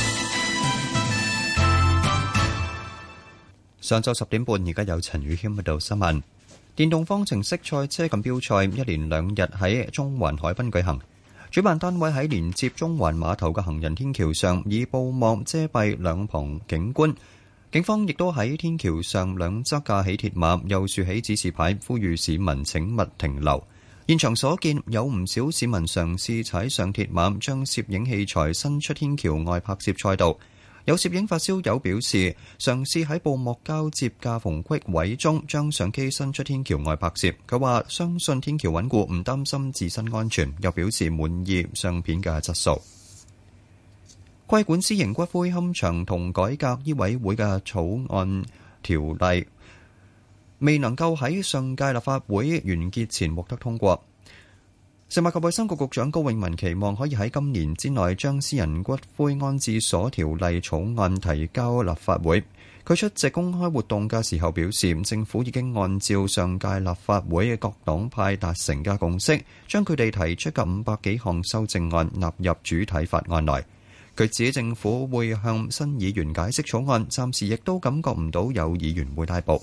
上晝十點半，而家有陳宇謙喺度新聞。電動方程式賽車錦標賽一連兩日喺中環海濱舉行，主辦單位喺連接中環碼頭嘅行人天橋上以布幕遮蔽兩旁景觀，警方亦都喺天橋上兩側架起鐵馬，又豎起指示牌，呼籲市民請勿停留。現場所見，有唔少市民嘗試踩上鐵馬，將攝影器材伸出天橋外拍攝賽道。有攝影發燒友表示，嘗試喺布幕交接架縫隙位中將相機伸出天橋外拍攝。佢話相信天橋穩固，唔擔心自身安全，又表示滿意相片嘅質素。規管私營骨灰龕場同改革醫委會嘅草案條例未能夠喺上屆立法會完結前獲得通過。食物及衛生局局長高永文期望可以喺今年之內將私人骨灰安置所條例草案提交立法會。佢出席公開活動嘅時候表示，政府已經按照上屆立法會各黨派達成嘅共識，將佢哋提出嘅五百幾項修正案納入主體法案內。佢指政府會向新議員解釋草案，暫時亦都感覺唔到有議員會拉布。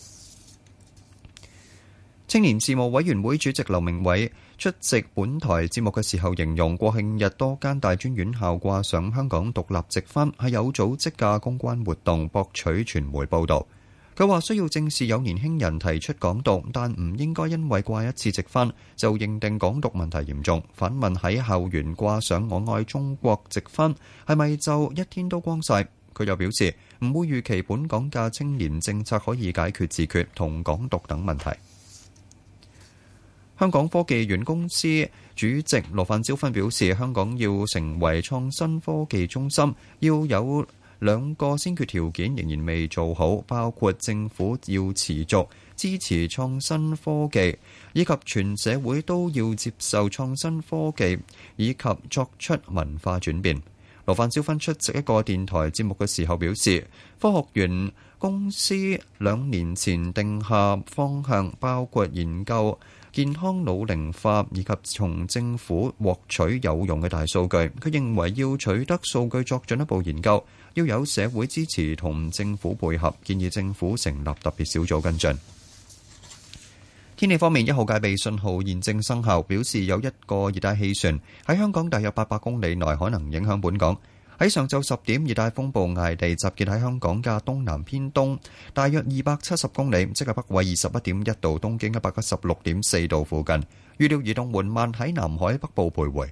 青年事務委員會主席劉明偉出席本台節目嘅時候形容，國慶日多間大專院校掛上香港獨立直幡係有組織嘅公關活動，博取傳媒報導。佢話需要正視有年輕人提出港獨，但唔應該因為掛一次直幡就認定港獨問題嚴重。反問喺校園掛上我愛中國直幡係咪就一天都光晒？佢又表示唔會預期本港嘅青年政策可以解決自決同港獨等問題。香港科技園公司主席羅范椒芬表示，香港要成為創新科技中心，要有兩個先決條件仍然未做好，包括政府要持續支持創新科技，以及全社會都要接受創新科技，以及作出文化轉變。羅范椒芬出席一個電台節目嘅時候表示，科學園公司兩年前定下方向，包括研究健康老齡化以及從政府獲取有用嘅大數據。佢認為要取得數據作進一步研究，要有社會支持同政府配合，建議政府成立特別小組跟進。天氣方面，一號戒備信號現正生效，表示有一個熱帶氣旋喺香港大約八百公里內可能影響本港。喺上晝十點，熱帶風暴艾地集結喺香港嘅東南偏東，大約二百七十公里，即係北緯二十一點一度、東經一百一十六點四度附近。預料移動緩慢喺南海北部徘徊。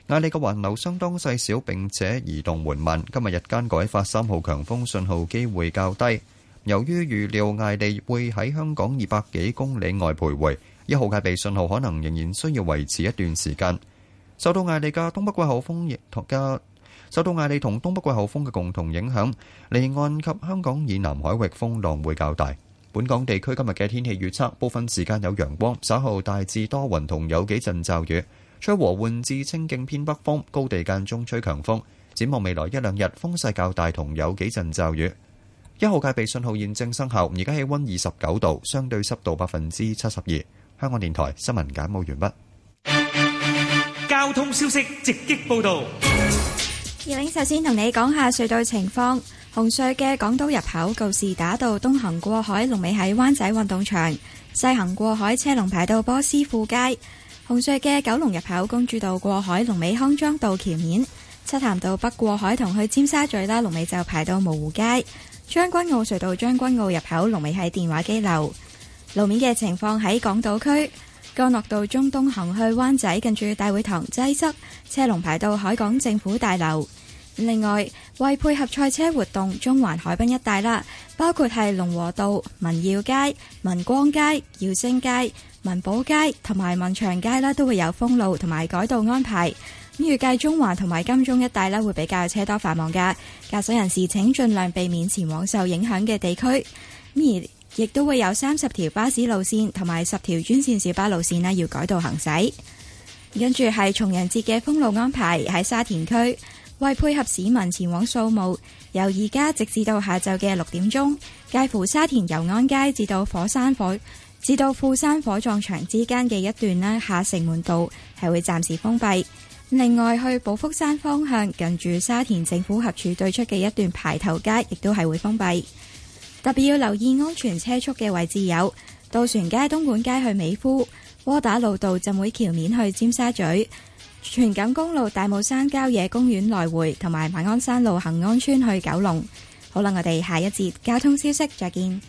艾利嘅環流相當細小並且移動緩慢，今日日間改發三號強風信號機會較低。由於預料艾利會喺香港二百幾公里外徘徊，一號戒備信號可能仍然需要維持一段時間。受到艾利嘅東北季候風亦同嘅受到艾利同東北季候風嘅共同影響，離岸及香港以南海域風浪會較大。本港地區今日嘅天氣預測，部分時間有陽光，稍後大致多雲同有幾陣驟雨，吹和緩至清勁偏北風，高地間中吹強風。展望未來一兩日風勢較大同有幾陣驟雨。一號戒備信號現正生效，而家氣溫二十九度，相對濕度百分之七十二。香港電台新聞簡報完畢。 交通消息直擊報道。 葉玲首先同你講下隧道情況。紅隧嘅港島入口告士打道東行過海，龍尾喺灣仔運動場；西行過海車龍排到波斯富街。紅隧嘅九龍入口公主道過海，龍尾康莊道橋面；漆咸道北過海同去尖沙咀啦，龍尾就排到蕪湖街。將軍澳隧道將軍澳入口龍尾喺電話機樓。路面嘅情況喺港島區，干諾道中東行去灣仔近住大會堂擠塞，車龍排到海港政府大樓。另外，為配合賽車活動，中環海濱一帶啦，包括係龍和道、民耀街、民光街、耀星街、民寶街同埋民祥街啦，都會有封路同埋改道安排。咁預計中環同埋金鐘一帶啦，會比較車多繁忙噶，駕駛人士請盡量避免前往受影響嘅地區。而亦都會有三十條巴士路線同埋十條專線小巴路線啦，要改道行駛。跟住係重陽節嘅封路安排喺沙田區。為配合市民前往掃墓，由而家直至到下晝嘅六點鐘，介乎沙田油安街至到火山火至到富山火葬場之間嘅一段呢，下城門道係會暫時封閉。另外，去寶福山方向近住沙田政府合署對出嘅一段排頭街，亦都係會封閉。特別要留意安全車速嘅位置有渡船街、東莞街去美孚、窩打老道浸會橋面去尖沙咀、荃錦公路大帽山郊野公園來回同埋馬鞍山路恒安村去九龍。好啦，我哋下一節交通消息再見。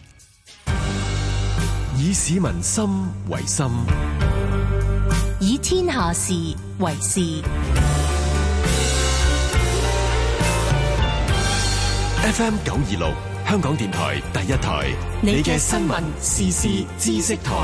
以市民心為心， 以天下事為事。 F M 九二六香港電台第一台，你嘅新聞時事知識台。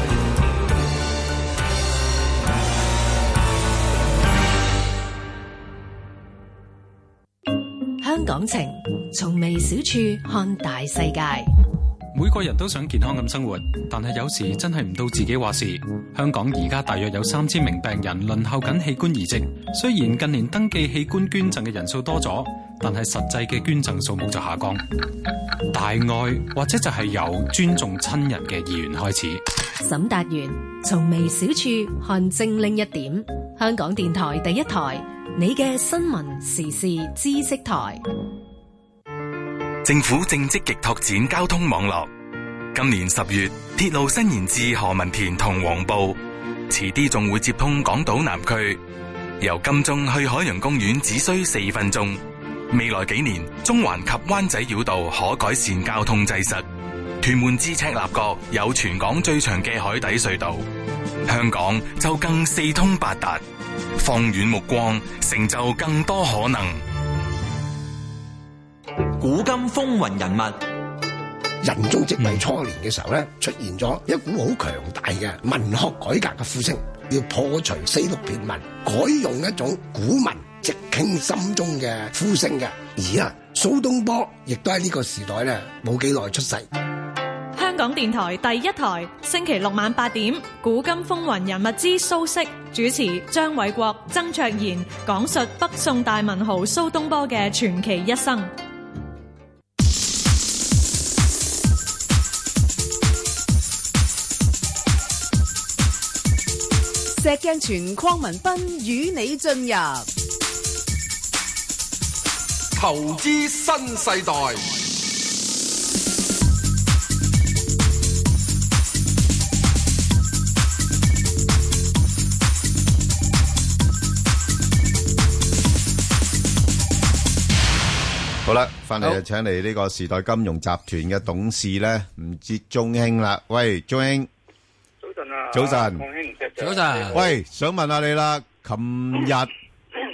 香港情，從微小處看大世界。 每個人都想健康咁生活，但係有時真係唔到自己話事。香港而家大約有三千名病人輪候緊器官移植，雖然近年登記器官捐贈嘅人數多咗，但係實際嘅捐贈數目就下降。大愛或者就係由尊重親人嘅意願開始。 沈達元從微小處看精靈一點，香港電台第一台，你嘅新聞時事知識台。 政府正積極拓展交通網絡。今年十月，鐵路伸延至何文田同黃埔，遲啲仲會接通港島南區。由金鐘去海洋公園只需四分鐘。未來幾年，中環及灣仔繞道可改善交通擠塞。屯門至赤鱲角有全港最長嘅海底隧道。香港就更四通八達。放遠目光，成就更多可能。 古今風雲人物，仁宗即位初年嘅時候咧，出現咗一股好強大嘅文學改革嘅呼聲，要破除四六駢文，改用一種古文，直傾心中嘅呼聲嘅。而啊，蘇東坡亦都喺呢個時代咧冇幾耐出世。 香港電台第一台，星期六晚八點，古今風雲人物之蘇軾，主持張偉國、曾卓賢，講述北宋大文豪蘇東坡嘅傳奇一生。 石鏡泉鄺民彬與你進入投資新世代。 好啦，翻嚟就請嚟呢個時代金融集團嘅董事咧，吳哲中興啦。喂，中興， 早晨啊， 早晨， 鄺興， 早晨。 喂，想問下你啦，琴日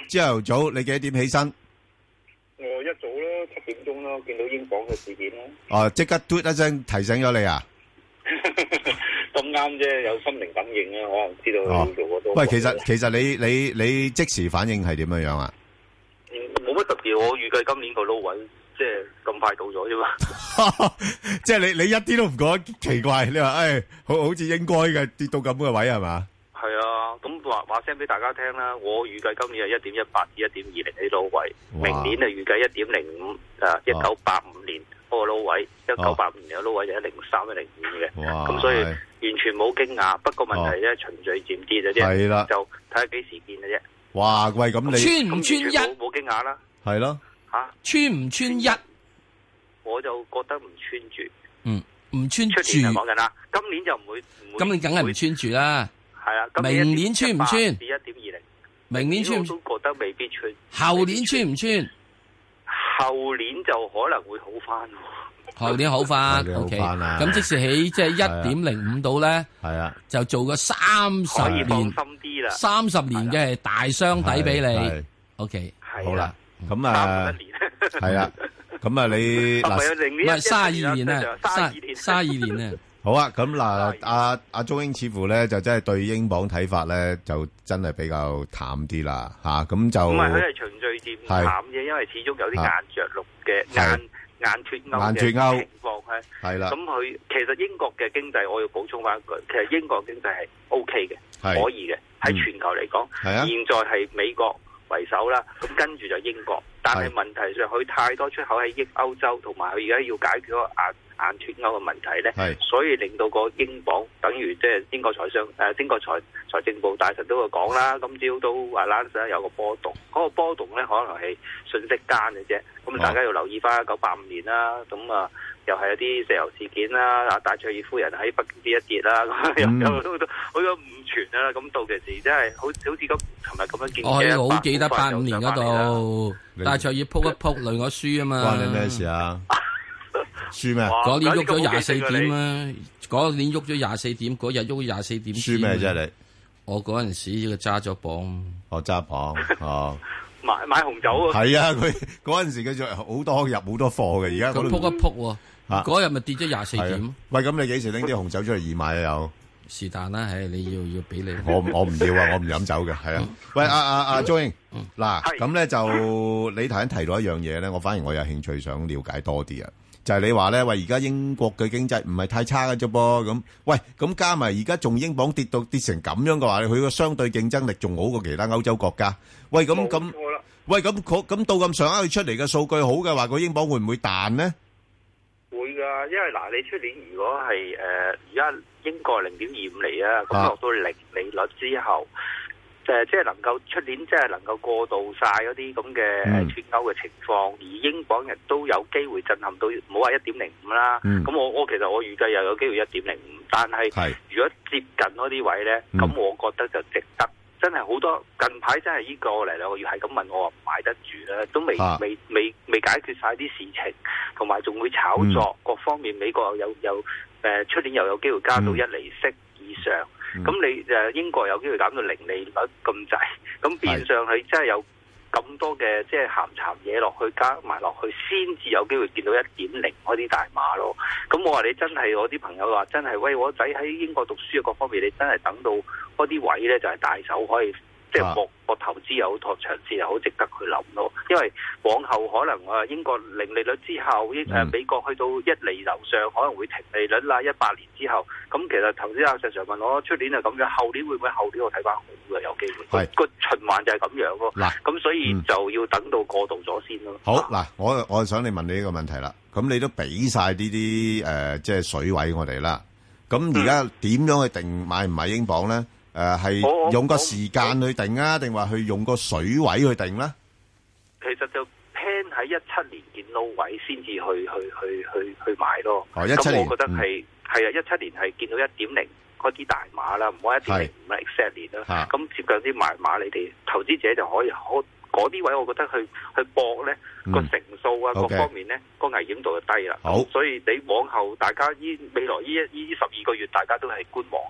朝頭早你幾多點起身？ 我一早咯，七點鐘咯，見到英鎊嘅事件咯。 哦，即刻嘟一聲提醒咗你啊！ 咁啱啫，有心靈感應啊，可能知道佢做嗰多。 喂，其實其實你你你即時反應係點樣樣啊？ 嗯，冇乜特別，我預計今年個 low 位即係咁快到咗啫嘛。 即係你你一啲都唔覺得奇怪？你話誒，好好似應該嘅跌到咁嘅位係嘛？ 係啊，咁話話聲俾大家聽啦。我預計今年係一點一八至一點二零喺 low 位，明年係預計一點零五，誒一九八五年嗰個 low 位，一九八五年嘅 low 位就一零三一零五嘅。咁所以完全冇驚訝。不過問題咧，循序漸跌嘅啫。係啦，就睇下幾時見嘅啫。 哇！喂，咁你穿唔穿一？ 冇驚訝啦。 係咯。 吓？ 穿唔穿一？ 我就覺得唔穿住。 嗯，唔穿住。 出年就講緊啦，今年就唔會唔會。 今年梗係唔穿住啦。 係啊， 明年穿唔穿？ 至一點二零。 明年穿唔穿？我都覺得未必穿。 後年穿唔穿？ 後年就可能會好翻。 後年好翻 ，OK。咁即時起即係一點零五度咧， 係啊， 就做個三十年， 放心啲啦。 三十年嘅大箱底俾你 ，OK。 好啦，咁啊，係啦，咁啊你嗱， 唔係三十二年咧，三三二年咧。 好啊，咁嗱，阿阿鍾英似乎咧就真係對英鎊睇法咧就真係比較淡啲啦，吓咁就唔係佢係循序漸淡嘅，因為始終有啲硬着陸嘅硬硬脱歐嘅情況係係啦。咁佢其實英國嘅經濟，我要補充翻一句，其實英國經濟係 O K 嘅，可以嘅，喺全球嚟講，現在係美國為首啦，咁跟住就英國，但係問題上佢太多出口喺益歐洲，同埋佢而家要解決嗰個硬硬脱歐嘅問題咧，所以令到個英鎊等於即係英國財商誒英國財財政部大臣都會講啦，今朝都話啦，有個波動，嗰、那個波動咧可能係瞬息間嘅啫，咁大家要留意翻一九八五年啦，咁啊又係有啲石油事件啦，啊戴卓爾夫人喺北京跌一跌啦，咁又有好多好多誤傳啦，咁到其時真係好好似咁琴日咁樣見嘅， 我好記得八五年嗰度戴卓爾撲一撲累我輸啊嘛， 關你咩事啊？輸咩？ 嗰年喐咗廿四點啊！嗰年喐咗廿四點，嗰日喐咗廿四點。 輸咩啫你？ 我嗰陣時佢揸咗磅， 我揸磅哦。 買買紅酒啊！ 係啊，佢嗰陣時佢就好多入好多貨嘅，而家佢撲一撲喎。嗰日咪跌咗廿四點。喂， 咁你幾時拎啲紅酒出嚟義賣啊？又是但啦，唉，你要要俾你。 我我唔要啊！我唔飲酒嘅，係啊。喂，阿阿阿鍾英，嗱，咁咧就你頭先提到一樣嘢咧，我反而我有興趣想了解多啲啊。就係你話咧，喂，而家英國嘅經濟唔係太差嘅啫噃，咁，喂，咁加埋而家仲英鎊跌到跌成咁樣嘅話，佢個相對競爭力仲好過其他歐洲國家。喂，咁咁，喂，咁咁到咁上下佢出嚟嘅數據好嘅話，個英鎊會唔會彈呢？ 會㗎，因為嗱，你出年如果係誒而家英國零點二五厘啊，咁落到零利率之後。誒，即係能夠出年，即係能夠過渡晒嗰啲咁嘅誒脱歐嘅情況，而英鎊亦都有機會震撼到，唔好話一點零五啦。咁、嗯、我我其實我預計又有機會一點零五，但係如果接近嗰啲位咧，咁、嗯、我覺得就值得。真係好多近排真係呢個嚟兩個月係咁問我話唔買得住咧，都未、啊、未未未解決晒啲事情，同埋仲會炒作、嗯、各方面。美國又有有誒出年又有機會加到一厘息以上。咁、嗯、你誒英國有機會減到零利率咁滯，咁變相係真係有咁多嘅即係鹹鹹嘢落去加埋落去，先至有機會見到一點零嗰啲大碼咯。咁我話你真係，我啲朋友話真係，喂，我仔喺英國讀書嘅各方面，你真係等到嗰啲位咧就係大手可以。即係博博投資又好，博長線又好，值得去諗咯。因為往後可能啊，英國零利率之後，英誒、嗯、美國去到一厘樓上，可能會停利率啦。一八年之後，咁其實頭先阿石 Sir 問我，出年係咁樣，後年會唔會後年我睇翻好嘅有機會？個循環就係咁樣咯。嗱，咁所以就要等到過渡咗先咯。 好嗱，我我想你問你呢個問題啦。咁你都俾晒呢啲誒，即係水位我哋啦。咁而家點樣去定買唔買英鎊咧？誒，係用個時間去定啊，定話去用個水位去定咧？ 其實就 plan 喺一七年見到位先至去去去去去買咯。哦，一七年，咁我覺得係係啊，一七年係見到一點零嗰啲大碼啦，唔好一點零五 exactly 啦。咁接近啲買碼，你哋投資者就可以好嗰啲位，我覺得去去搏咧個成數啊，各方面咧個危險度就低啦。好，所以你往後大家依未來呢一呢十二個月，大家都係觀望咯。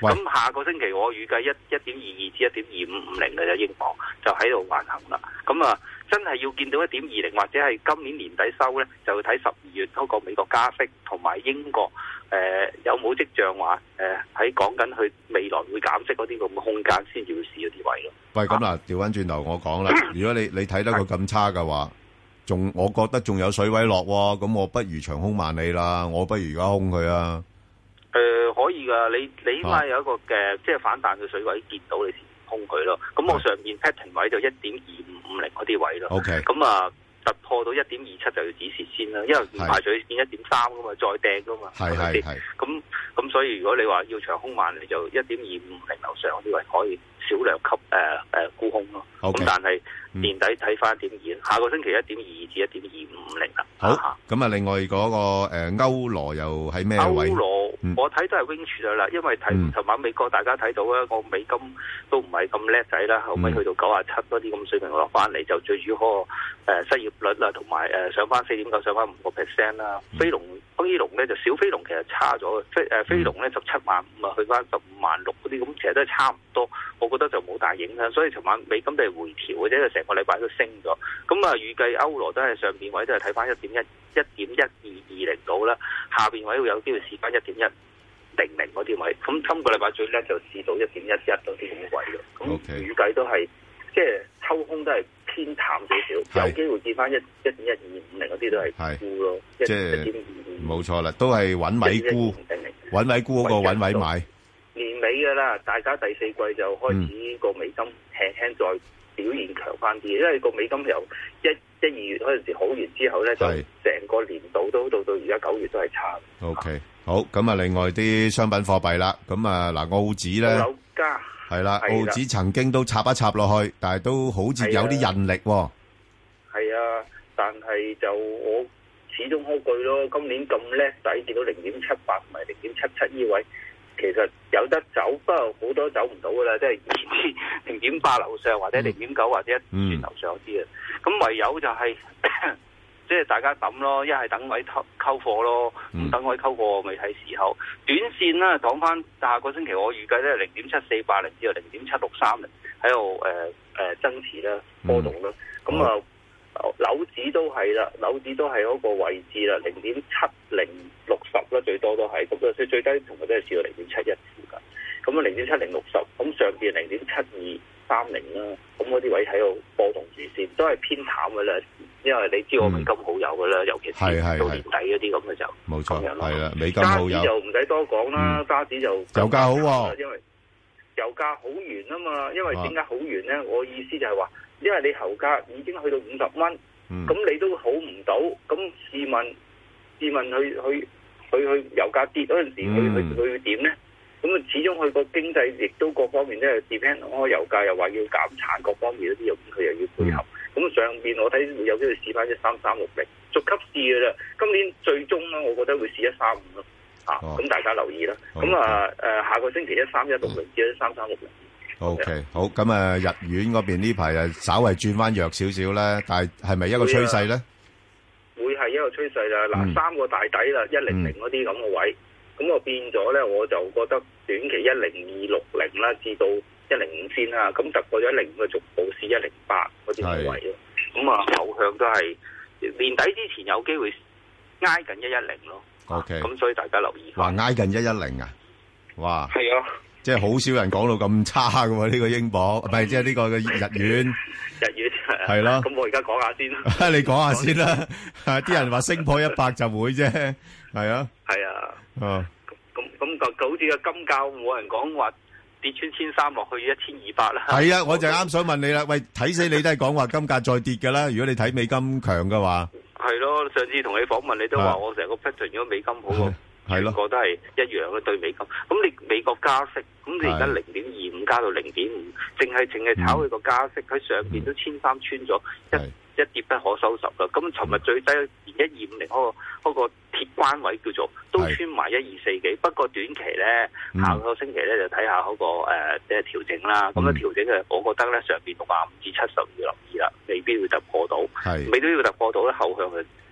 咁下個星期我預計一一點二二至一點二五五零嘅就英鎊就喺度橫行啦。咁啊，真係要見到一點二零或者係今年年底收咧，就要睇十二月嗰個美國加息同埋英國誒、呃、有冇跡象話誒喺講緊佢未來會減息嗰啲咁嘅空間先至會試嗰啲位咯。 喂，咁嗱，調翻轉頭我講啦，如果你你睇得佢咁差嘅話，仲我覺得仲有水位落喎，咁我不如長空萬里啦，我不如而家空佢啊。 誒、呃，可以噶，你你起碼有一個嘅、啊、即係反彈嘅水位見到你先空佢咯。咁我上面 pattern 位就一點二五五零嗰啲位咯。 OK。 咁啊突破到一點二七就要止蝕先啦，因為唔排除見一點三噶嘛，再掟噶嘛。係係係。咁咁所以如果你話要長空萬里就一點二五五零樓上嗰啲位可以少量吸誒誒沽空咯。咁、okay. 但係年底睇翻一點二，下個星期一點二二至一點二五五零啦。 好，咁啊，另外嗰、那個誒、呃、歐羅又喺咩位？歐羅、嗯、我睇都係 range 咗啦，因為睇尋、嗯、晚美國大家睇到咧，個美金都唔係咁叻仔啦，後尾去到九啊七嗰啲咁水平落翻嚟，就最主要嗰個誒失業率啦，同埋誒上翻四點九，上翻五個 percent 啦。飛龍飛龍咧就小飛龍其實差咗，飛誒飛龍咧十七萬五啊，去翻十五萬六嗰啲，咁其實都係差唔多。我覺得就冇大影響，所以尋晚美金都係回調嘅啫，因為成個禮拜都升咗。咁啊，預計歐羅都係上邊位都係睇翻一點一一點一二二零度啦，下邊位會有機會試翻一點一零零嗰啲位。咁今個禮拜最叻就試到一點一一嗰啲咁嘅位咯。咁預計都係即係抽空都係偏淡少少，有機會見翻一一點一二五零嗰啲都係沽咯。即係一點二五冇錯啦，都係揾位沽，揾位沽嗰個揾位買。 年尾㗎啦，大家第四季就開始個美金輕輕再表現強翻啲，因為個美金由一一二月嗰陣時好完之後咧，就成個年度都到到而家九月都係差。 O K，好，咁啊，另外啲商品貨幣啦，咁啊嗱，澳紙咧， 澳加係啦，澳紙曾經都插一插落去，但係都好似有啲韌力喎。 係啊，但係就我始終嗰句咯，今年咁叻仔，見到零點七八同埋零點七七呢位。其實有得走，不過好多走唔到噶啦，即係零點八樓上或者零點九或者一轉樓上啲啊。咁、嗯、唯有就係、是、即係大家等咯，一係等位溝溝貨咯，唔、嗯、等位溝貨未睇時候。短線啦，講翻下個星期我預計咧零點七四八零至到零點七六三零喺度誒誒增持啦，波動啦。咁、嗯、啊。樓指都係啦，樓指都係嗰個位置啦，零點七零六十啦，最多都係咁啊，最最低同佢都係試到零點七一附近，咁啊零點七零六十，咁上邊零點七二三零啦，咁嗰啲位喺度波動住先，都係偏淡嘅啦，因為你知我美金好友嘅啦，尤其是到年底嗰啲咁嘅就冇錯，係啦，美金好友， 加指就唔使多講啦，加指就油價好喎， 因為油價好完啊嘛，因為點解好完咧？我意思就係話。因為你油價已經去到五十蚊，咁、嗯、你都好唔到，咁試問，試問佢佢佢佢油價跌嗰陣時，佢佢佢會點咧？咁啊，始終佢個經濟亦都各方面咧 depend on 個油價，又話要減產，各方面嗰啲，咁佢又要配合。咁、嗯、上邊我睇會有機會試翻一三三六零，逐級試嘅啦。今年最終咧，我覺得會試一三五咯。啊，咁、哦、大家留意啦。咁啊誒，下個星期一三一六零至一三三六零。 O K，好，咁啊，日元嗰邊呢排啊，稍微轉翻弱少少咧，但係係咪一個趨勢咧？ 會係一個趨勢啦。嗱、嗯，三個大底啦，一零零嗰啲咁嘅位，咁、嗯、我變咗咧，我就覺得短期一零二六零啦，至到一零五先啦。咁突破咗一零五嘅逐步試一零八嗰啲位咯。咁啊，後向都係年底之前有機會挨近一一零咯。O K，咁所以大家留意。 話挨近一一零啊？哇！ 係啊。 即係好少人講到咁差㗎喎，呢個英鎊，唔係即係呢個嘅日元。 日元係咯。 咁我而家講下先啦。 你講下先啦。啲人話升破一百就會啫，係啊。 係啊。 哦。 咁咁就好似個金價冇人講話跌穿千三落去一千二百啦。係啊，我就啱想問你啦。喂，睇死你都係講話金價再跌㗎啦。如果你睇美金強嘅話。 係咯，上次同你訪問你都話我成個 pattern 如果美金好喎。係咯，個都係一樣嘅對美金。咁你美國加息，咁你而家零點二五加到零點五，淨係淨係炒佢個加息，喺、嗯、上邊都千三穿咗，一一跌不可收拾啦。咁尋日最低連一二五零嗰個嗰個鐵關位叫做都穿埋一二四幾。不過短期咧，下個星期咧就睇下嗰、那個誒即係調整啦。咁樣調整嘅，我覺得咧上邊六十五至七十要留意啦，未必會突破到，未必要突破到咧後向嘅。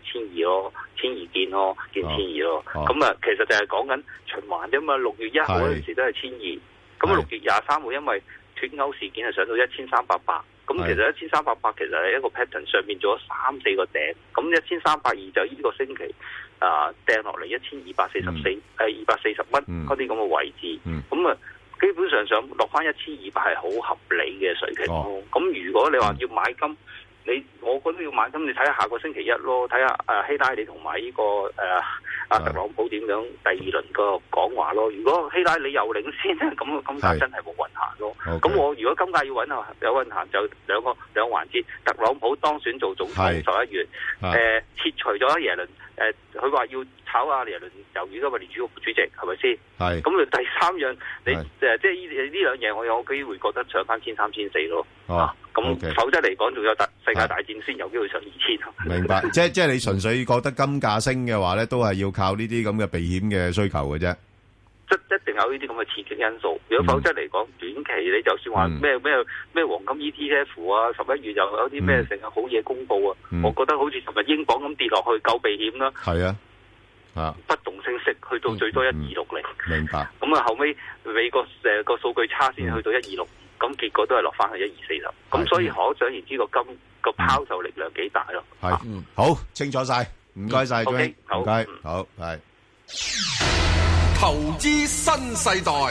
千二咯，千二見咯，見千二咯。咁啊、哦，其實就係講緊循環啫嘛。六月一號嗰陣時都係千二，咁六月廿三號因為脱歐事件係上到一千三百八，咁其實一千三百八其實係一個 pattern 上面做咗三四個頂，咁一千三百二就呢個星期啊掟落嚟一千二百四十四，誒二百四十蚊嗰啲咁嘅位置，咁啊、嗯、基本上想落翻一千二百係好合理嘅水平咯。咁、哦、如果你話要買金，你我覺得要買金，你睇下下個星期一咯，睇下誒希拉里同埋呢個誒阿、呃、特朗普點樣第二輪個講話咯。如果希拉里又領先咧，咁個金價真係冇運行咯。咁 Okay. 我如果金價要穩啊，有運行就兩個兩個環節。特朗普當選做總統十一月，誒、呃、撤除咗耶倫，誒佢話要炒阿耶倫魷魚㗎嘛，聯儲局主席係咪先？係。咁你第三樣，你誒即係呢呢兩樣，我有機會覺得上翻千三千四咯。哦。咁、啊 okay. 否則嚟講，仲有大世界大戰先有機會上二千。 明白，即係即係你純粹覺得金價升嘅話咧，都係要靠呢啲咁嘅避險嘅需求嘅啫。 即一定有呢啲咁嘅刺激因素。如果否則嚟講，短期你就算話咩咩咩黃金 E T F 啊，十一月又有啲咩成日好嘢公佈啊，嗯、我覺得好似尋日英鎊咁跌落去夠避險啦。係啊，啊不動聲色去到最多一二六零。明白。咁啊後尾美國誒個數據差先去到一二六。咁結果都係落翻去一二四十，咁所以可想而知個金個拋售力量幾大咯。係， 好清楚晒，唔該晒，唔該，好，係。 投資新世代。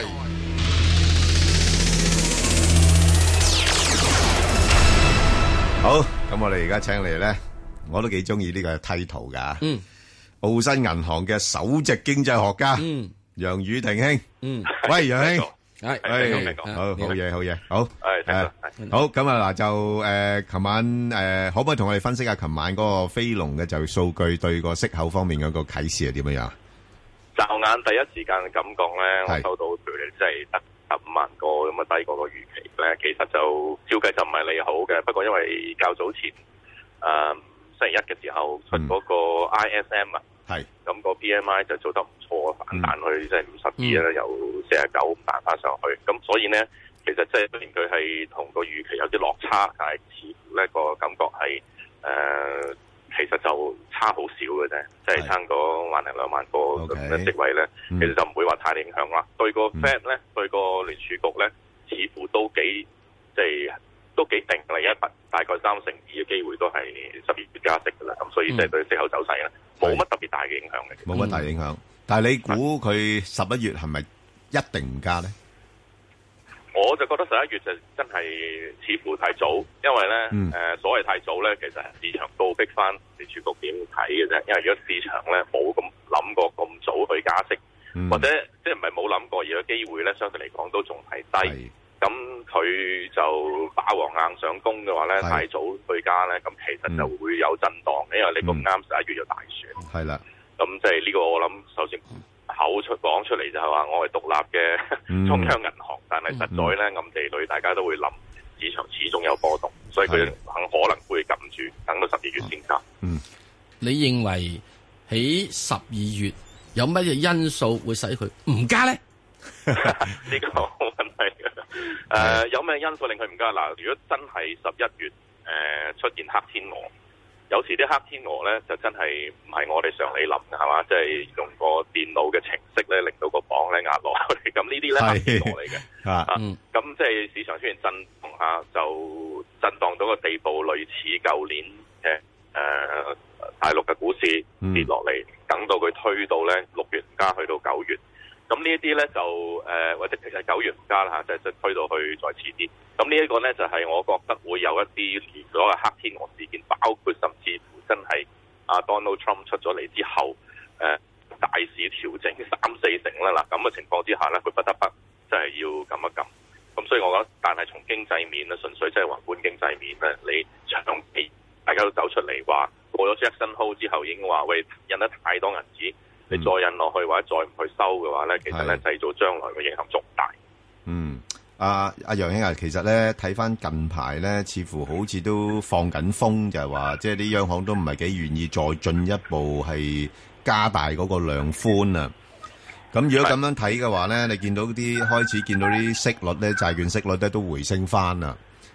好，咁我哋而家請嚟咧，我都幾中意呢個梯圖噶。嗯，澳新銀行嘅首席經濟學家，嗯，楊宇霆兄，嗯，喂，楊兄。係，係，好好嘢，好嘢，好，係，係，好，咁啊嗱，就誒，琴晚誒，可唔可以同我哋分析下琴晚嗰個非農嘅就業數據對個息口方面嗰個啟示係點樣樣？ 驟眼第一時間嘅感覺咧，我收到譬如你即係得十五萬個咁啊，低過個預期咧，其實就照計就唔係利好嘅。不過因為較早前誒星期一嘅時候出嗰個 I S M 啊。係，咁個 P M I 就做得唔錯，反彈去即係五十二咧，由四十九咁彈翻上去。咁所以呢，其實即係雖然佢係同個預期有啲落差，但係似乎呢個感覺係誒、呃，其實就差好少嘅啫，即係差嗰萬零兩萬個咁嘅職位咧，其實就唔會話太影響啦。對個 Fed 咧，對個聯儲局咧，似乎都幾即係。都幾定嚟一大概三成二嘅機會都係十二月加息㗎啦，咁所以即係對息口走勢咧冇乜特別大嘅影響嘅。冇乜大影響，但係你估佢十一月係咪一定唔加咧？我就覺得十一月就真係似乎太早，因為咧誒、嗯呃、所謂太早咧，其實係市場倒逼翻聯儲局點睇嘅啫。因為如果市場咧冇咁諗過咁早去加息，嗯、或者即係唔係冇諗過，而個機會咧相對嚟講都仲係低。咁佢就霸王硬上弓嘅話咧，太早去加咧，咁其實就會有震盪，因為你咁啱十一月就大選。係啦，咁即係呢個我諗，首先口出講出嚟就係話，我係獨立嘅中央銀行，但係實在咧暗地裏大家都會諗，市場始終有波動，所以佢很可能會撳住，等到十二月先加。嗯，你認為喺十二月有乜嘢因素會使佢唔加咧？呢個好問題嘅。誒、呃，有咩因素令佢唔加？嗱，如果真係十一月誒、呃、出現黑天鵝，有時啲黑天鵝咧就真係唔係我哋常理諗嘅，係嘛？即、就、係、是、用個電腦嘅程式咧，令到個榜咧壓落去。咁呢啲咧黑天鵝嚟嘅啊。咁即係市場出現震動下，就震盪到個地步，類似舊年嘅誒、呃、大陸嘅股市跌落嚟，嗯、等到佢推到咧六月加去到九月。咁呢一啲咧就誒、呃，或者其實九月唔加啦嚇，就就推到去再遲啲。咁呢一個咧就係、是、我覺得會有一啲所謂黑天鵝事件，包括甚至乎真係阿 Donald Trump 出咗嚟之後，誒、呃、大市調整三四成啦嗱，咁嘅情況之下咧，佢不得不真係要撳一撳。咁所以我覺得，但係從經濟面咧，純粹即係宏觀經濟面咧，你長期大家都走出嚟話過咗 Jackson Hole 之後，已經話喂印得太多銀紙。你再印落去或者再唔去收嘅話咧，其實咧製造將來嘅影響仲大。嗯，阿阿楊兄啊，其實咧睇翻近排咧，似乎好似都放緊風，就係話即係啲央行都唔係幾願意再進一步係加大嗰個量寬啊。咁如果咁樣睇嘅話咧，你見到啲開始見到啲息率咧，債券息率咧都回升翻啦。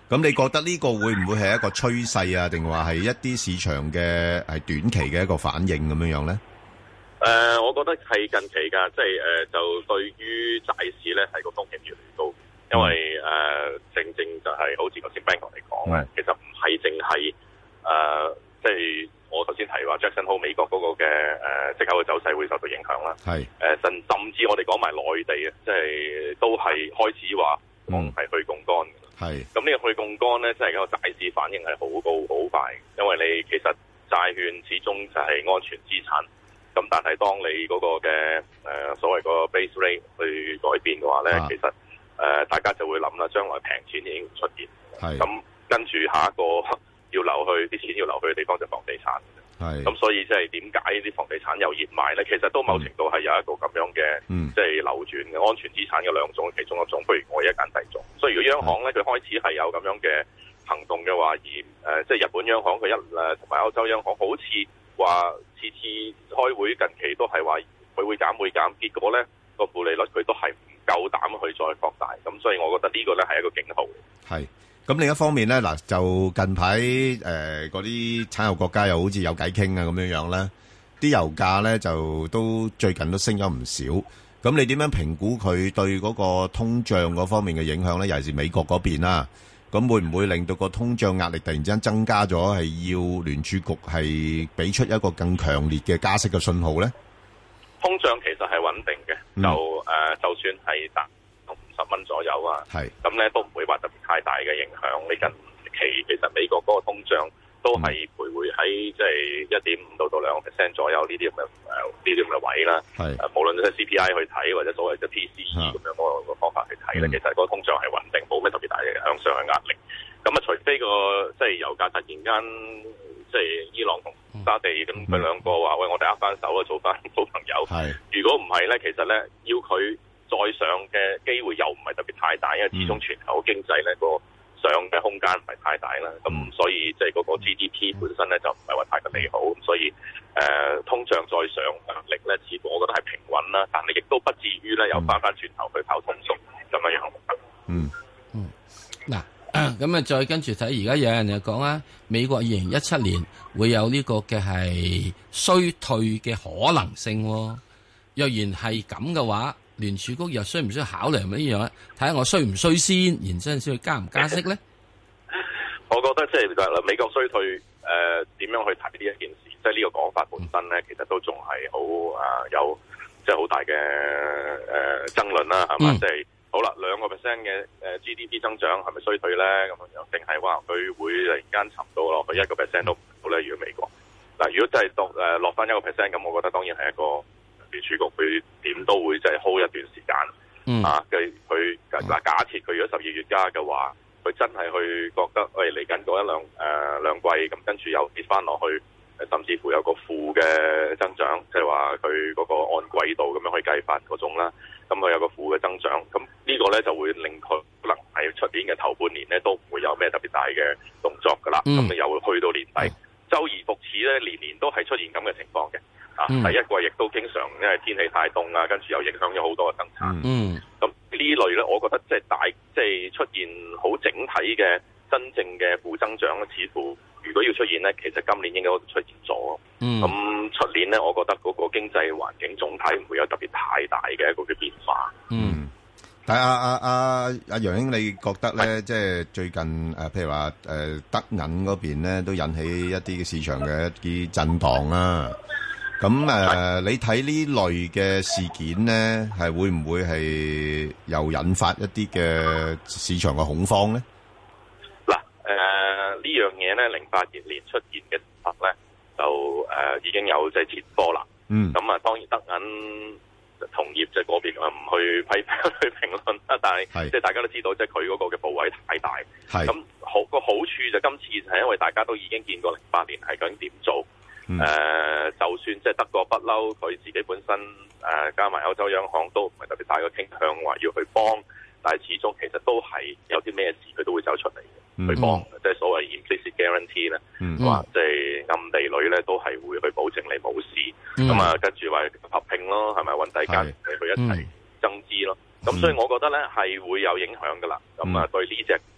咁你覺得呢個會唔會係一個趨勢啊？定話係一啲市場嘅係短期嘅一個反應咁樣樣咧？ 誒、呃，我覺得係近期㗎，即係誒、呃，就對於債市咧係個風險越嚟越高，因為誒、呃、正正就係好似頭先 Ben 哥嚟講咧，其實唔係淨係誒，即係我頭先提話 Jackson Hole 美國嗰個嘅誒息口嘅走勢會受到影響啦。係誒、呃，甚甚至我哋講埋內地啊，即係都係開始話講係去槓桿。係咁呢個去槓桿咧，即係個債市反應係好高好快，因為你其實債券始終就係安全資產。咁但係當你嗰個嘅誒、呃、所謂個 base rate 去改變嘅話咧，啊、其實誒、呃、大家就會諗啦，將來平錢已經出現。係咁跟住下一個要流去啲錢要流去嘅地方就房地產。係咁所以即係點解啲房地產又熱賣咧？其實都某程度係有一個咁樣嘅，即係、嗯、流轉嘅安全資產嘅兩種其中一種，不如我一揀第二種。所以如果央行咧佢開始係有咁樣嘅行動嘅話，而誒即係日本央行佢一誒同埋歐洲央行好似話次次開會近期都係話佢會減會減，結果咧個負利率佢都係唔夠膽去再擴大，咁所以我覺得呢個咧係一個警號。係。咁另一方面咧，嗱就近排誒嗰啲產油國家又好似有偈傾啊咁樣樣咧，啲油價咧就都最近都升咗唔少。咁你點樣評估佢對嗰個通脹嗰方面嘅影響咧？尤其是美國嗰邊啦，咁會唔會令到個通脹壓力突然之間增加咗？係要聯儲局係俾出一個更強烈嘅加息嘅信號咧？通脹其實係穩定嘅，嗯、就誒、呃、就算係達十蚊左右啊，係咁咧都唔會話特別太大嘅影響。你近期其實美國嗰個通脹都係徘徊喺即係一點五到到兩個 percent 左右呢啲咁嘅誒呢啲咁嘅位啦。係誒，無論係 C P I 去睇或者所謂嘅 P C E 咁樣嗰個方法去睇咧，其實嗰個通脹係穩定，冇咩特別大嘅向上嘅壓力。咁啊，除非個即係油價突然間即係伊朗同沙地咁佢兩個話喂，我哋握翻手啊，做翻好朋友。係如果唔係咧，其實咧要佢再上嘅機會又唔係特別太大，因為始終全球經濟咧個上嘅空間唔係太大啦。咁、嗯、所以即係嗰個 G D P 本身咧就唔係話太過利好。咁所以誒、呃、通脹再上壓力咧，似乎我覺得係平穩啦，但係亦都不至於咧又翻翻轉頭去跑通縮咁樣樣。嗯嗯，嗱咁啊，再跟住睇，而家有人就講啊，美國二零一七年會有呢個嘅係衰退嘅可能性。若然係咁嘅話，聯儲局又需唔需要考慮係咪呢樣咧？睇下我衰唔衰先，然之後先去加唔加息咧？我覺得即係美國衰退誒點、呃、樣去睇呢一件事，即係呢個講法本身咧，其實都仲係好啊有即係好大嘅誒、呃、爭論啦，係嘛？即係、嗯、好啦，兩個 percent 嘅誒 G D P 增長係咪衰退咧？咁樣定係話佢會突然間沉到落去一個 percent 都唔到咧？如果美國嗱、呃，如果真係落誒落翻一個 percent，咁我覺得當然係一個。聯儲局佢點都會即係 hold 一段時間，嗯、啊，佢佢嗱假設佢如果十二月加嘅話，佢真係去覺得喂嚟緊嗰一兩誒、呃、兩季咁，跟住又跌翻落去，甚至乎有個負嘅增長，即係話佢嗰個按季度咁樣去計法嗰種啦，咁佢有個負嘅增長，咁呢個咧就會令佢可能喺出年嘅頭半年咧都唔會有咩特別大嘅動作噶啦，咁你、嗯、又去到年底，嗯、周而復始咧，年年都係出現咁嘅情況嘅。啊！第一季亦都經常因為天氣太凍啊，跟住又影響咗好多嘅生產。嗯，咁呢類咧，我覺得即係大，即係出現好整體嘅真正嘅負增長咧，似乎如果要出現咧，其實今年應該都出現咗。嗯，咁出年咧，我覺得嗰個經濟環境總體唔會有特別太大嘅一個嘅變化。嗯，但係阿阿阿阿楊兄，你覺得咧，即係最近誒，譬如話誒德銀嗰邊咧，都引起一啲嘅市場嘅一啲震盪啦。咁誒、呃，你睇呢類嘅事件咧，係會唔會係又引發一啲嘅市場嘅恐慌咧？嗱，誒、呃、呢樣嘢咧，零八年年出現嘅時候咧，就誒、呃、已經有即係前波啦。嗯。咁啊，當然德銀同業即係嗰邊啊，唔去批去評論啦。但係即係大家都知道，即係佢嗰個嘅部位太大。係。咁好個好處就今次就係因為大家都已經見過零八年係究竟點做。誒、嗯呃，就算即係德國不嬲，佢自己本身誒、呃、加埋歐洲央行都唔係特別大嘅傾向，話要去幫，但係始終其實都係有啲咩事佢都會走出嚟嘅、嗯、去幫，即係所謂 implicit guarantee 咧、嗯，話即係暗地裏咧都係會去保證你冇事，咁、嗯、啊跟住話合併咯，係咪揾第間你去一齊增資咯？咁、嗯、所以我覺得咧係會有影響噶啦，咁啊、嗯、對呢隻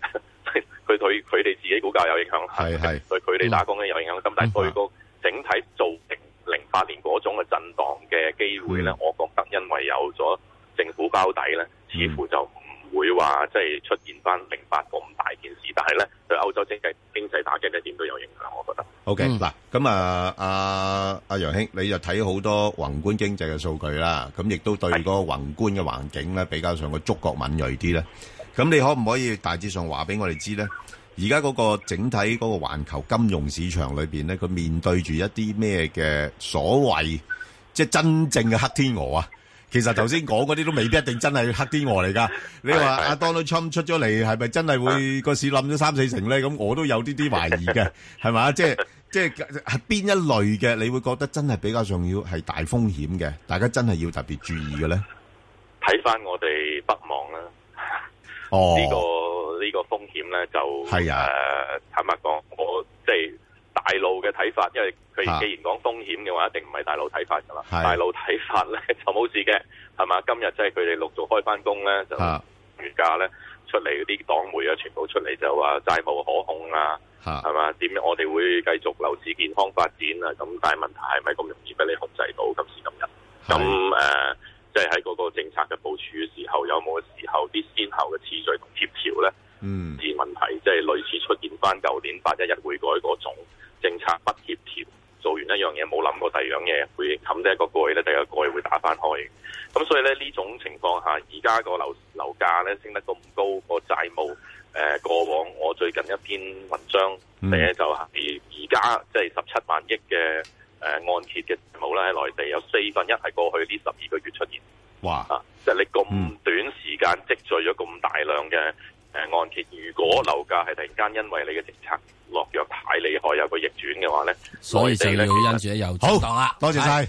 佢對佢哋自己股價有影響， 係係對佢哋打工咧有影響。咁、嗯、但係對個整體造成零八年嗰種嘅震盪嘅機會咧、嗯，我覺得因為有咗政府包底咧，似乎就唔會話即係出現翻零八咁大件事。但係咧對歐洲經濟經濟打擊咧點都有影響，我覺得。 O K 嗱，咁啊阿阿楊兄，你就睇好多宏觀經濟嘅數據啦，咁亦都對嗰個宏觀嘅環境咧比較上個觸覺敏鋭啲咧。咁你可唔可以大致上話俾我哋知咧？而家嗰個整體嗰個環球金融市場裏邊咧，佢面對住一啲咩嘅所謂即係真正嘅黑天鵝啊？其實頭先講嗰啲都未必一定真係黑天鵝嚟㗎。你話阿 Donald Trump 出咗嚟，係咪真係會個市冧咗三四成咧？咁我都有啲啲懷疑嘅，係嘛？即係即係係邊一類嘅？你會覺得真係比較重要係大風險嘅，大家真係要特別注意嘅咧？ 睇翻我哋北望啦， 哦， 呢個呢個風險咧就係啊、呃，坦白講，我即係大陸嘅睇法，因為佢既然講風險嘅話，一定唔係大陸睇法㗎啦。大陸睇法咧就冇事嘅，係嘛？今日即係佢哋陸續開翻工咧，就原價咧出嚟嗰啲黨媒啊，全部出嚟就話債務可控啊，係嘛？點樣我哋會繼續樓市健康發展啊？咁但係問題係咪咁容易俾你控制到今時今日？咁誒，即係喺嗰個政策嘅部署嘅時候，有冇時候啲先後嘅次序同協調咧？嗯，啲問題即係類似出現翻舊年八一一匯改嗰種政策不協調，做完一樣嘢冇諗過第二樣嘢會冚低一個蓋咧，第二個蓋會打翻開。咁所以咧呢種情況下，而家個樓樓價咧升得咁高，個債務誒、呃、過往我最近一篇文章寫就係而家即係十七萬億嘅誒按揭嘅債務咧喺內地有四分一係過去呢十二個月出現。哇！啊，即係你咁短時間積聚咗咁大量嘅誒按揭，如果樓價係突然間因為你嘅政策落藥太厲害，有個逆轉嘅話咧， 所以就要因住有震盪啦。 多謝晒。